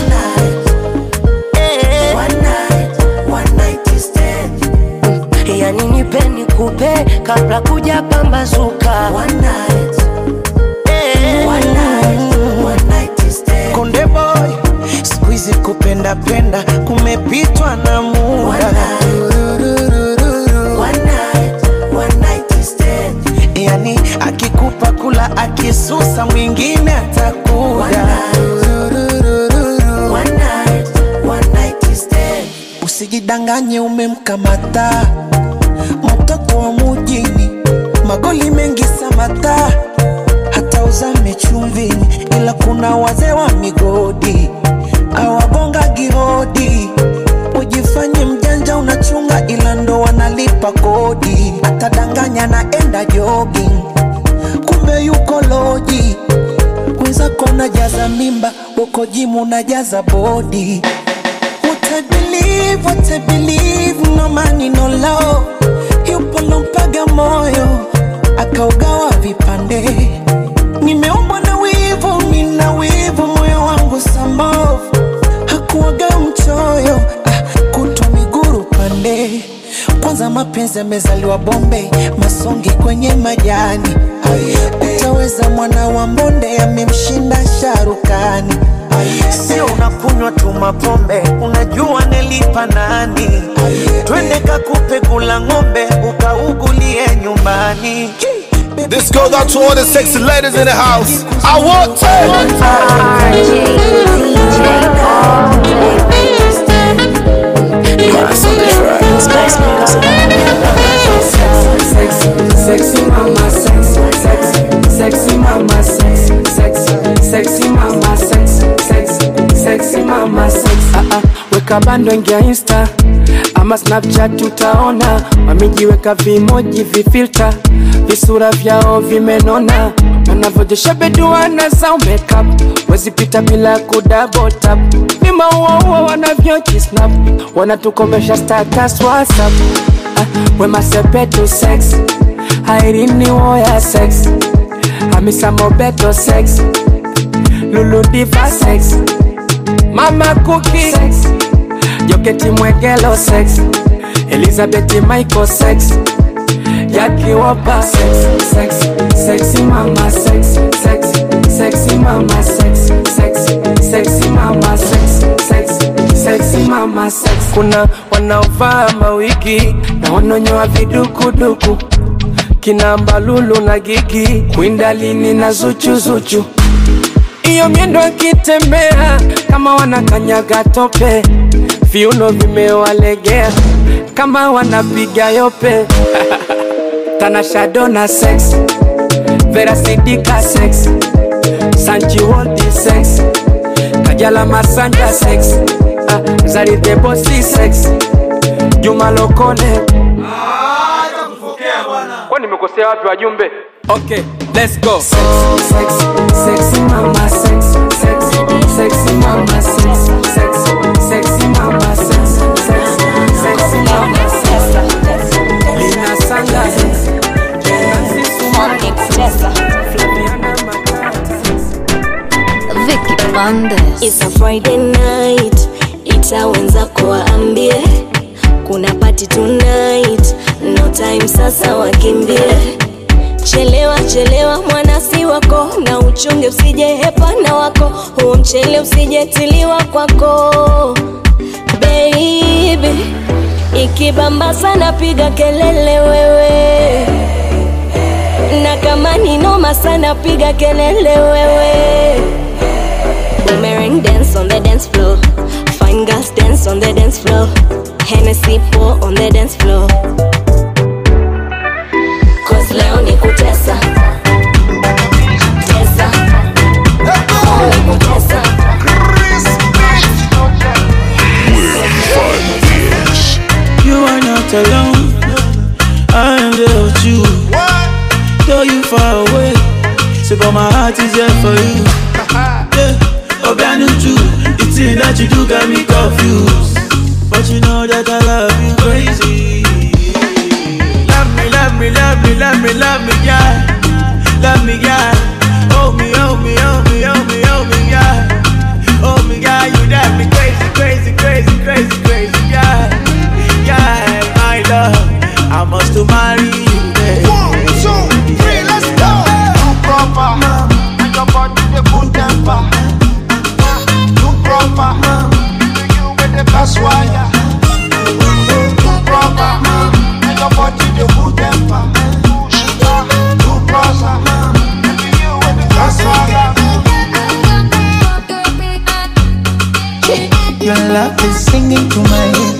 One night stand. Yani nipe nikupe, kabla kuja pambazuka. One night stand. Konde boy, squeeze kupenda penda, kumepitwa na muda. One night stand. Yani akikupa kula, akisusa mwingine atakuda. One night stand. Usijidanganye umemkamata mtoto wa mujini, magoli mengi samata, hata uzame chumvini, ila kuna wazee wa migodi awagonga gihodi. Ujifanye mjanja unachunga, ila ndo wanalipa kodi. Atadanganya naenda jogging, kumbe yuko loji. Mwenzako najaza mimba, uko jimu najaza body. What I believe, no money no love. Yupo lompaga moyo, akaugawa vipande. Nimeumbwa na wivu, mina wivu, moyo wangu sambovu. Hakuwaga mchoyo, kutwa miguru pande. Kwanza mapenzi yamezaliwa bombe, masongi kwenye majani. Utaweza mwana wa mbonde, amemshinda Sharukani. Sio unakunywa tu mapombe, unajua nelipa nani? Twende kakupe kula ng'ombe, ukaugulie nyumbani. This goes out to all the sexy ladies in the house. I want to. Sexy mama, sexy mama, sexy mama, sexy mama, weka bando ingia Insta ama Snapchat, utaona wamejiweka vimoji vifilter, visura vyao vimenona, wanavyojesha beduana za makeup, wezi pita bila kudouble tap. Vima uwa wanavyojisnap, wanatukomesha status WhatsApp. Wema sepetu sex, Irene Uwoya sex, Hamisa Mobeto sex, Lulu Diva sex, Mama Cookie sex, Joketi Mwegelo sex, Elizabeth Michael sex, Jackie Wopa sex, sexy mama sex, sexy mama sex, sexy mama sex, sexy mama sex. Kuna wanaovaa mawigi na wanonyoa vidukuduku, kina Mbalulu na Gigi, Kwindalini na Zuchu. Iyo miendo akitembea kama wanakanyaga tope, viuno vimewalegea kama wanapiga yope. Tanasha Donna sex, Vera Sidika sex, Sanchi Waldi sex, Kajala Masanja sex, Zari the Bossy sex, Juma Lokole Acha kufokea bwana. Kwani nimekosea wapi wajumbe? Okay, let's go. Sexy mama, sexy mama, sexy mama, sexy mama, Lina Sanga, Vicky Bandes. It's a Friday night, itawenza kuwaambie kuna party tonight, no time sasa wakimbie. Chelewa mwana si wako, na uchunge usije hepana wako, huo mchele usije tiliwa kwako. Baby, ikibamba sana piga kelele wewe, na kama ni noma sana piga kelele wewe. Boomerang dance on the dance floor, fine girls dance on the dance floor, Hennessy pour on the dance floor. Cause leo ni kutesa, tesa, leo ni kutesa. You are not alone, I am there with you. Though you far away, so but my heart is there for you. Yeah, Obianuju, the thing that you do got me confused, but you know that I love you crazy. Love me, yeah. Love me, yeah. Hold me, yeah. Hold me, yeah. You drive me crazy, yeah. Yeah, my love, I must to marry you, babe. 1, 2, 3, let's go. You proper, and your body the good temper. You proper, you with the best wire. You proper, and your body the good temper. You proper, you with the best wire. Your love is singing to my head.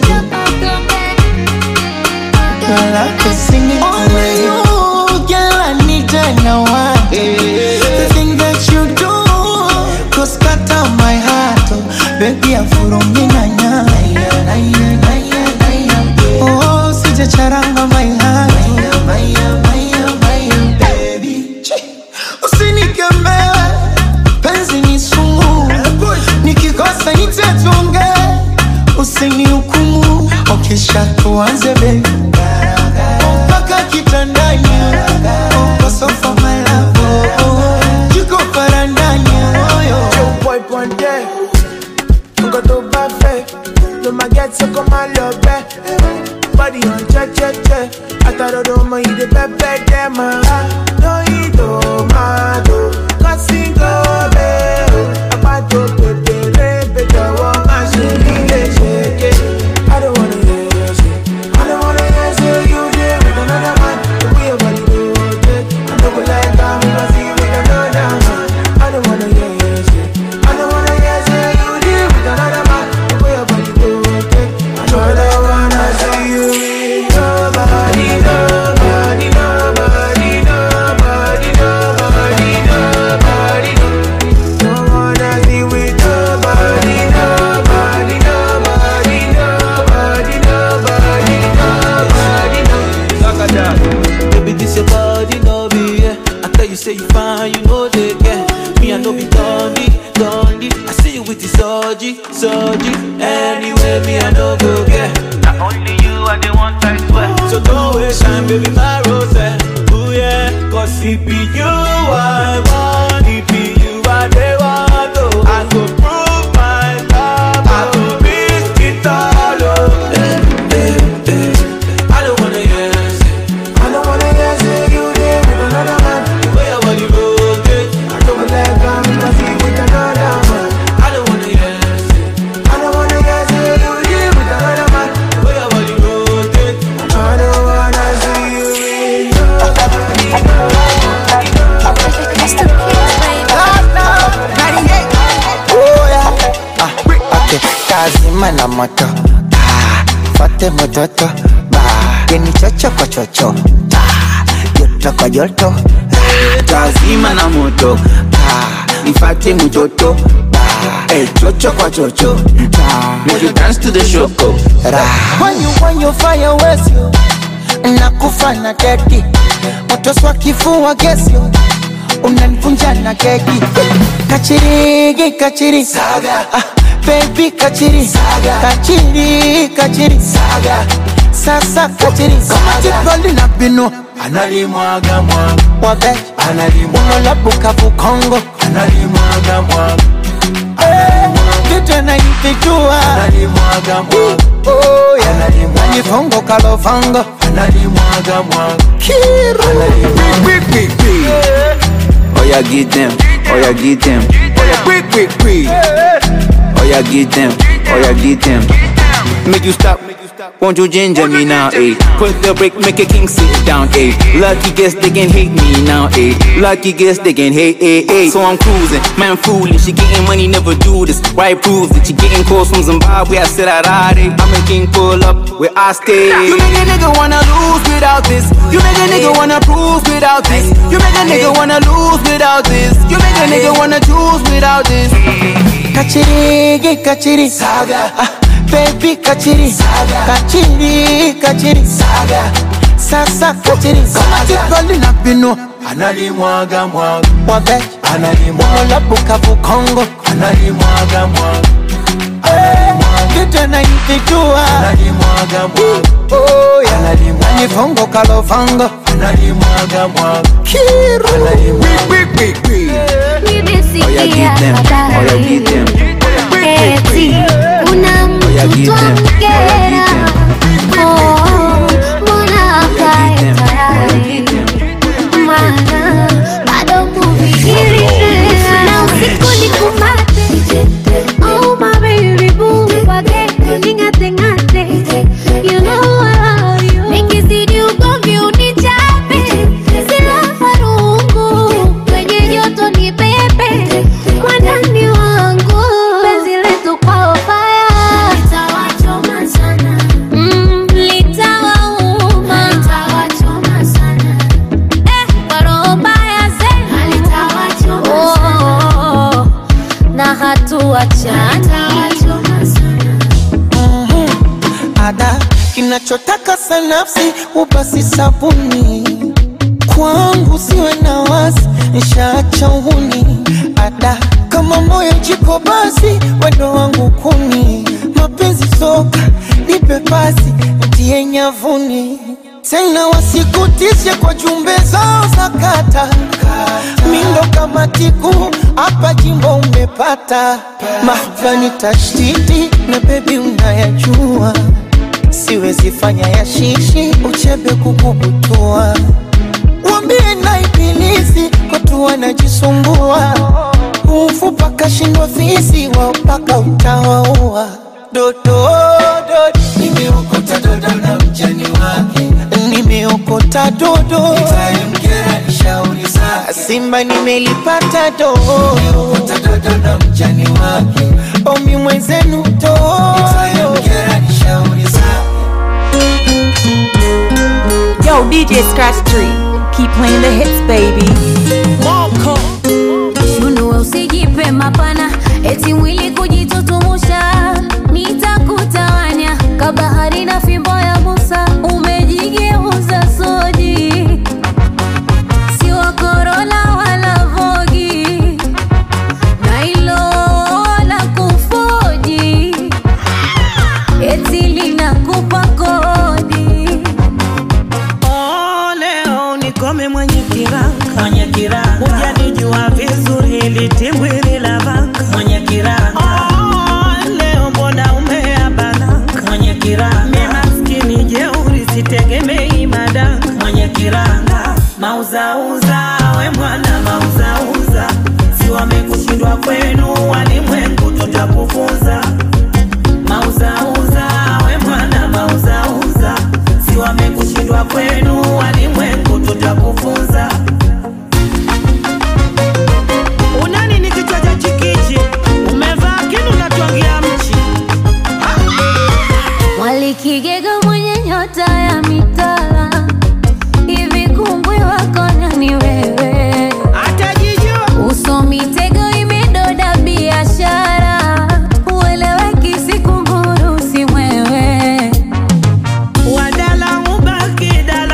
Your love is singing to my head. Oh, girl, I need to know why. The thing that you do goes cut out my heart. Oh, baby, I'm full minanya. Oh, sija charanga my heart. Baby, usinikeme, penzi ni sumu. Nikikosa nitatunge, usinihukumu. Okisha tuanze baby, mpaka kitandani, uko sofa my love, jiko parandani. Joe boy ponte, nko to buffet, no magetse koma lobe, body on che. Ataro do mo ide pepe dema, no ido mado, kasingo be, apato pepe rebe jawo mashini le shake. I don't wanna hear you there with another man. The way your body do it, I don't go like that. Me must see you with another man. I don't wanna hear you there with another man. The way your body do it, I don't wanna see you with nobody. Don't wanna see with nobody. Baby, this your body, no be, yeah. I tell you, say you fine, you know they get. Me, I know be dundee. I see you with the soji. Anyway, me, I know go get. Not only you, I the one I swear. So don't waste time, baby, my rose. Ooh, yeah. Cause it be you, I want. It be you, I they want. Oh, I go prove my love. I go miss it all. Oh, I don't wanna hear you there with another man. the way your body rotate. I don't wanna let go, me must see with another man. I don't wanna hear you there with another man. the way your body rotate. I don't wanna see you with nobody. Oh yeah, okay. Kazi mana moto, fate mototo, yeni chocho kwa chocho, joto kwa joto. Kazi mana moto, ifate mototo, chocho kwa chocho. Make you dance to the shoko. When you fire waste you, nakufa na dedi, motoswa kifua gesio, unanipunja na keki. Kachiri, kachiri, saga. Baby kachiri, saga. Kachiri, kachiri, saga. Sasa kachiri, kama jibali na bino, analimwaga mwaga, wabe, analimwaga, unolabuka vukongo, analimwaga mwaga, kitu na ifitua, analimwaga mwaga, oh yeah, analimwaga, nifongo kalofango, analimwaga mwaga, kiru, Oh yeah, get them, oh yeah, get them, oh yeah, oh yeah, get them, oh yeah, get them. Make you stop, won't you ginger me now, eh? Put the break, make a king sit down, eh? Lucky guess they can hate me now, eh? Lucky guess they can hate, eh, eh? So I'm cruising, man fooling, she getting money, never do this. Why prove it? She getting calls from Zimbabwe, I said I'd I'm a king, pull up where I stay. You make a nigga wanna lose without this. You make a nigga wanna prove without this. You make a nigga wanna lose without this. You make a nigga wanna choose without this. kachiri, kachiri, saga. Baby kachiri, saga. Kachiri, kachiri, saga. Sasa kachiri, kama jibali na bino, analimwaga mwaga, wabe, analimwaga, unolabuka vukongo, analimwaga mwaga, kitu na ifitua, analimwaga mwaga, oh yeah, analimwaga, nifongo kalofango, analimwaga mwaga, kiru, Nimesikia habari eti kuna mtu amkera, mbona akae tayari, maana bado kufikiri na usiku nikumate. Oh my baby boo, wage ningate ngate, you know I love you. Nikizidi ugomvi unichape, sila farungu, kwenye joto ni pepe, kwa ndani wangu penzi letu kwa fire. Litawachoma sana, litawauma, litawachoma sana, kwa roho mbaya zenu litawachoma sana, na hatuachana, litawachoma sana. Ada kinachotaka sanafsi ubasi sabuni, kwangu siwe na wasi, nishaacha uhuni. Ada kama moyo jiko basi, wendo wangu kuni, mapenzi soka nipe pasi, ntie nyavuni. Tena wasikutishe kwa jumbe zao za kata, mindo kama tiku hapa jimbo umepata. Mahvani tashtiti na baby unayajua, siwezi fanya ya shishi uchebe kukubutua. Wambie na ibilisi watu wanajisumbua, ufupa kashindwa fisi wao paka utawaua. Dodo, dodo, nimeokota dodo na mjani wake, nimeokota dodo, nitamkera nishauri zake. Simba nimelipata dodo, nimeokota dodo na mjani wake, omi mwenzenu dodo, nitamkera nishauri zake. Yo, DJ Scratch 3, keep playing the hits, baby. Moko Shunua usijipe mapana, eti mwili kujitutumusha, nitakutawanya kabahari na fimbo ya Musa, umejigeuza soji, si wa Corolla wala Vogue, na ilo la kufoji, eti linakupa kodi. Oh, leo nikome mwenye kiranga, hujanijua vizuri litimbwili la vanga. Oh, leo mbona umeabananga, mimi maskini jeuri sitegemei madanga. Mauzauza we mwana mauzauza, si wamekushindwa kwenu walimwengu tutakufunza. Mauzauza we mwana mauzauza, si wamekushindwa kwenu walimwengu tutakufunza. Unani ni kichwa cha chikichi, umevaa kinu na tuangia mchi. Walikigega mwenye nyota ya mitala, hivi kumbwi wako nani wewe? Atajijua uso mitego imedoda biashara, ueleweki si kunguru si mwewe. wadala ubaki dala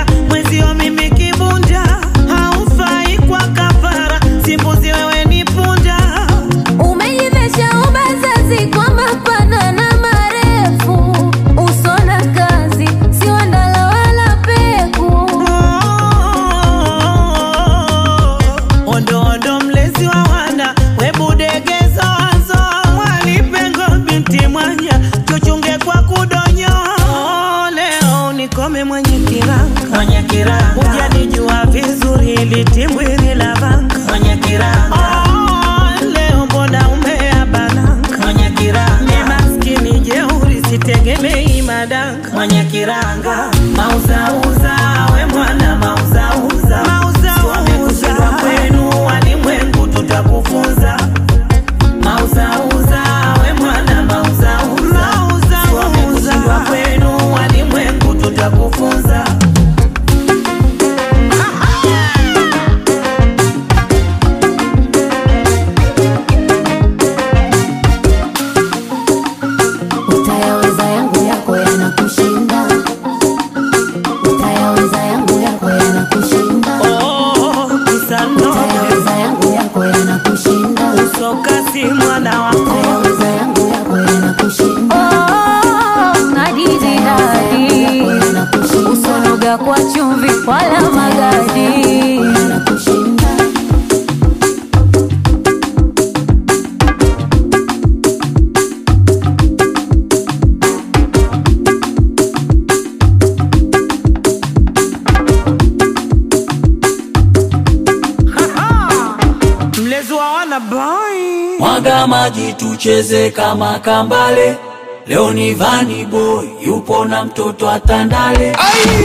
kiranga, mwenye kiranga. Hujanijua vizuri ili timbwili la vanga, mwenye kiranga. Leo mbona umeabananga, mwenye kiranga. Ni maskini jeuri sitegemei madanga, mwenye kiranga. Mauzauza we mwana mauzauza, wamekushindwa kwenu walimwengu tutakufunza. Mauzauza we mwana mauzauza, wamekushindwa kwenu walimwengu tutakufunza. Utayaweza yangu yako yanakushinda, utayaweza yangu yako yanakushinda, utayaweza yangu yako yanakushinda, usokasi mwana wako, utayaweza yangu yako yanakushinda. Nadidi dadi usonoga kwa chumvi wala magadi. Mlezi wa wana boy, Mwaga maji tucheze kama kambale. Leo ni Vani Boy yupo na mtoto atandale.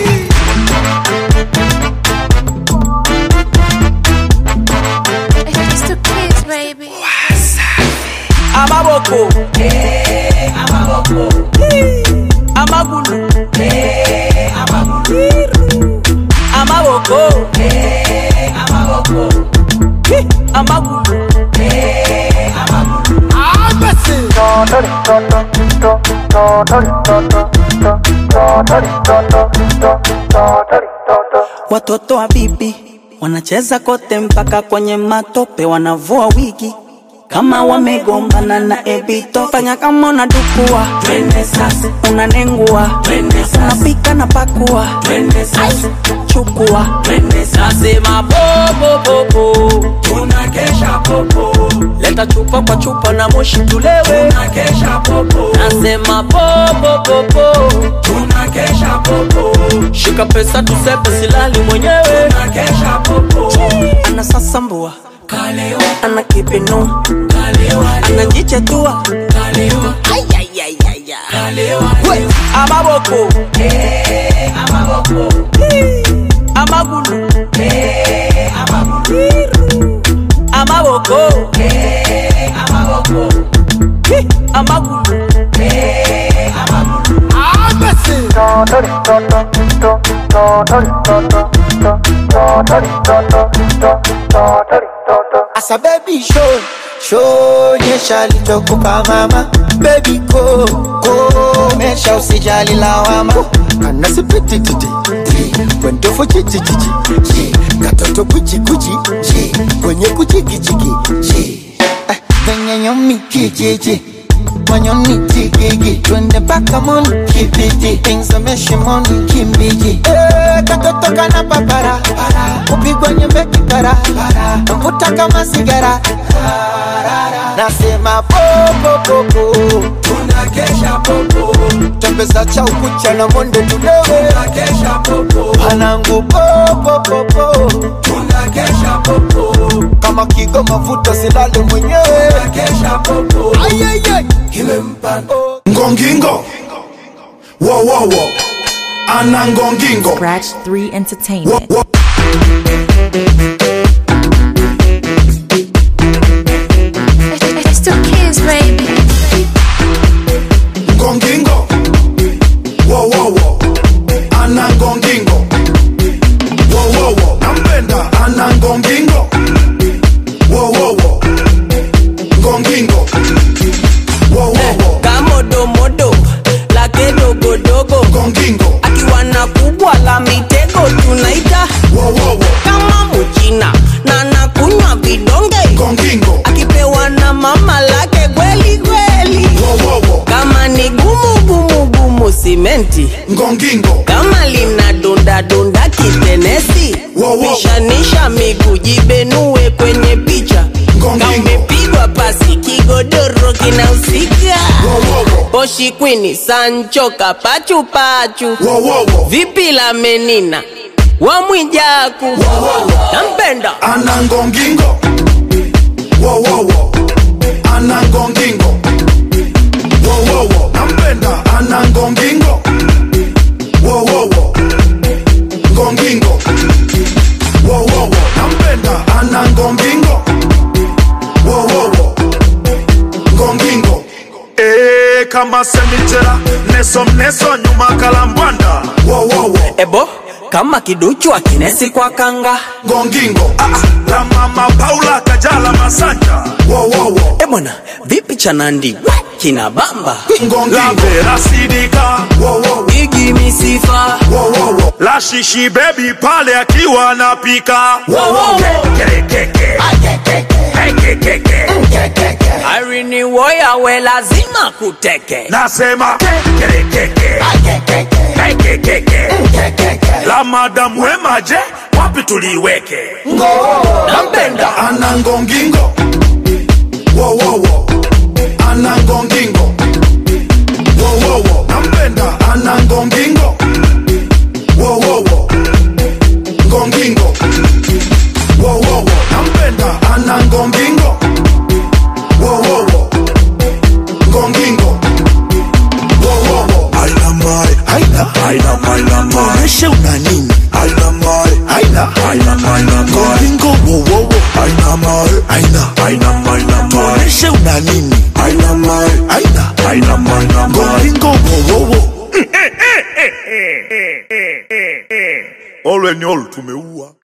It's the kids, baby. Amaboko, amaboko, amagulu, amagulu, amaboko, amaboko, amagulu, Watoto wa bibi wanacheza kote mpaka kwenye matope, wanavua wigi kama wamegombana na ebito. Fanya kama unadukua, twende sasa, unanengua, twende sasa, unapika na pakua, twende sasa, chukua, twende sasa. nasema popo popo, Tunakesha popo, leta chupa kwa chupa na moshi tulewe. tunakesha popo, Nasema popo popo, tunakesha popo, shika pesa tusepe silali mwenyewe. tunakesha popo. Ana sasambua, Kalewa, ana kipinu, kalewa, anajichetua, kalewa, ayayayaya. We, amaboko, amaboko, amagulu, amaboko, amaboko, amaboko, amagulu. Asa baby show nyesha lichokupa mama. Baby go mesha usijali lawama. Kana sipiti titi kwendo fo chichi chichi katoto kuchi kuchi kwenye kuchiki chiki kwenye nyomi kijiji manyoni tigigi twende paka moni kibiti ingzameshe moni kimbiji katoto kana papara kupigwa nyembe kipara mvuta kama sigara nasema popo popo tunakesha popo, tembeza cha ukucha na monde tudewe tunakesha popo, panangu popo popo tunakesha popo, kama kigo mafuta silale mwenyewe tunakesha popo. ayayay Kimempa Ngongingo. Wo wo wo. Ana ngongingo. Scratch 3 Entertainment. It's the kids, baby. Ngongingo. Wo wo wo. Ana ngongingo. Wo wo wo. Nampenda ana ngongingo. Wo wo wo. Ngongingo. Wo wo wo. Kamodo modo, lake dogo dogo. Ngongingo. Akiwa na kubwa la mitego tunaita. Wo wo wo. Kama mchina na nakunywa vidonge. Ngongingo. Akipewa na mama lake kweli kweli. Wo wo wo. Kama ni gumu gumu gumu simenti. Ngongingo. Kama lina donda donda kitenesi. Wo wo wo. Pishanisha miguu jibenue kwenye picha. Ngongingo. Kama umepigwa pasi kigodoro kinahusika. Wo wo wo. Poshi Queen, Sancho, Kapachu Pachu. Vipi la menina wa Mwijaku. Nampenda Anangongingo. Anangongingo. Nampenda Anangongingo. Ngongingo. Nampenda Anangongingo. Ngongingo. Kama semitera neso nyuma kalambwanda. Ebo kama kiduchu akinesi kwa kanga. Ngongingo. La mama Paula Kajala Masanja. Ebona vipi chanandi kina bamba. Ngongingo. La Sidika. Igi misifa. La Shishi baby pale akiwa anapika. Irene Woya we lazima kuteke. Nasema la madam Wema je wapi tuliweke. Nampenda Anangongingo. Anangongingo. Nampenda Anangongingo. Ngongingo. Nampenda Anangongingo. Ngongingo. Aina mai Tuoneshe una nini. Aina mai Ngongingo. Aina mai Tuoneshe una nini. Aina mai Ngongingo. Ole ni olu tumeua.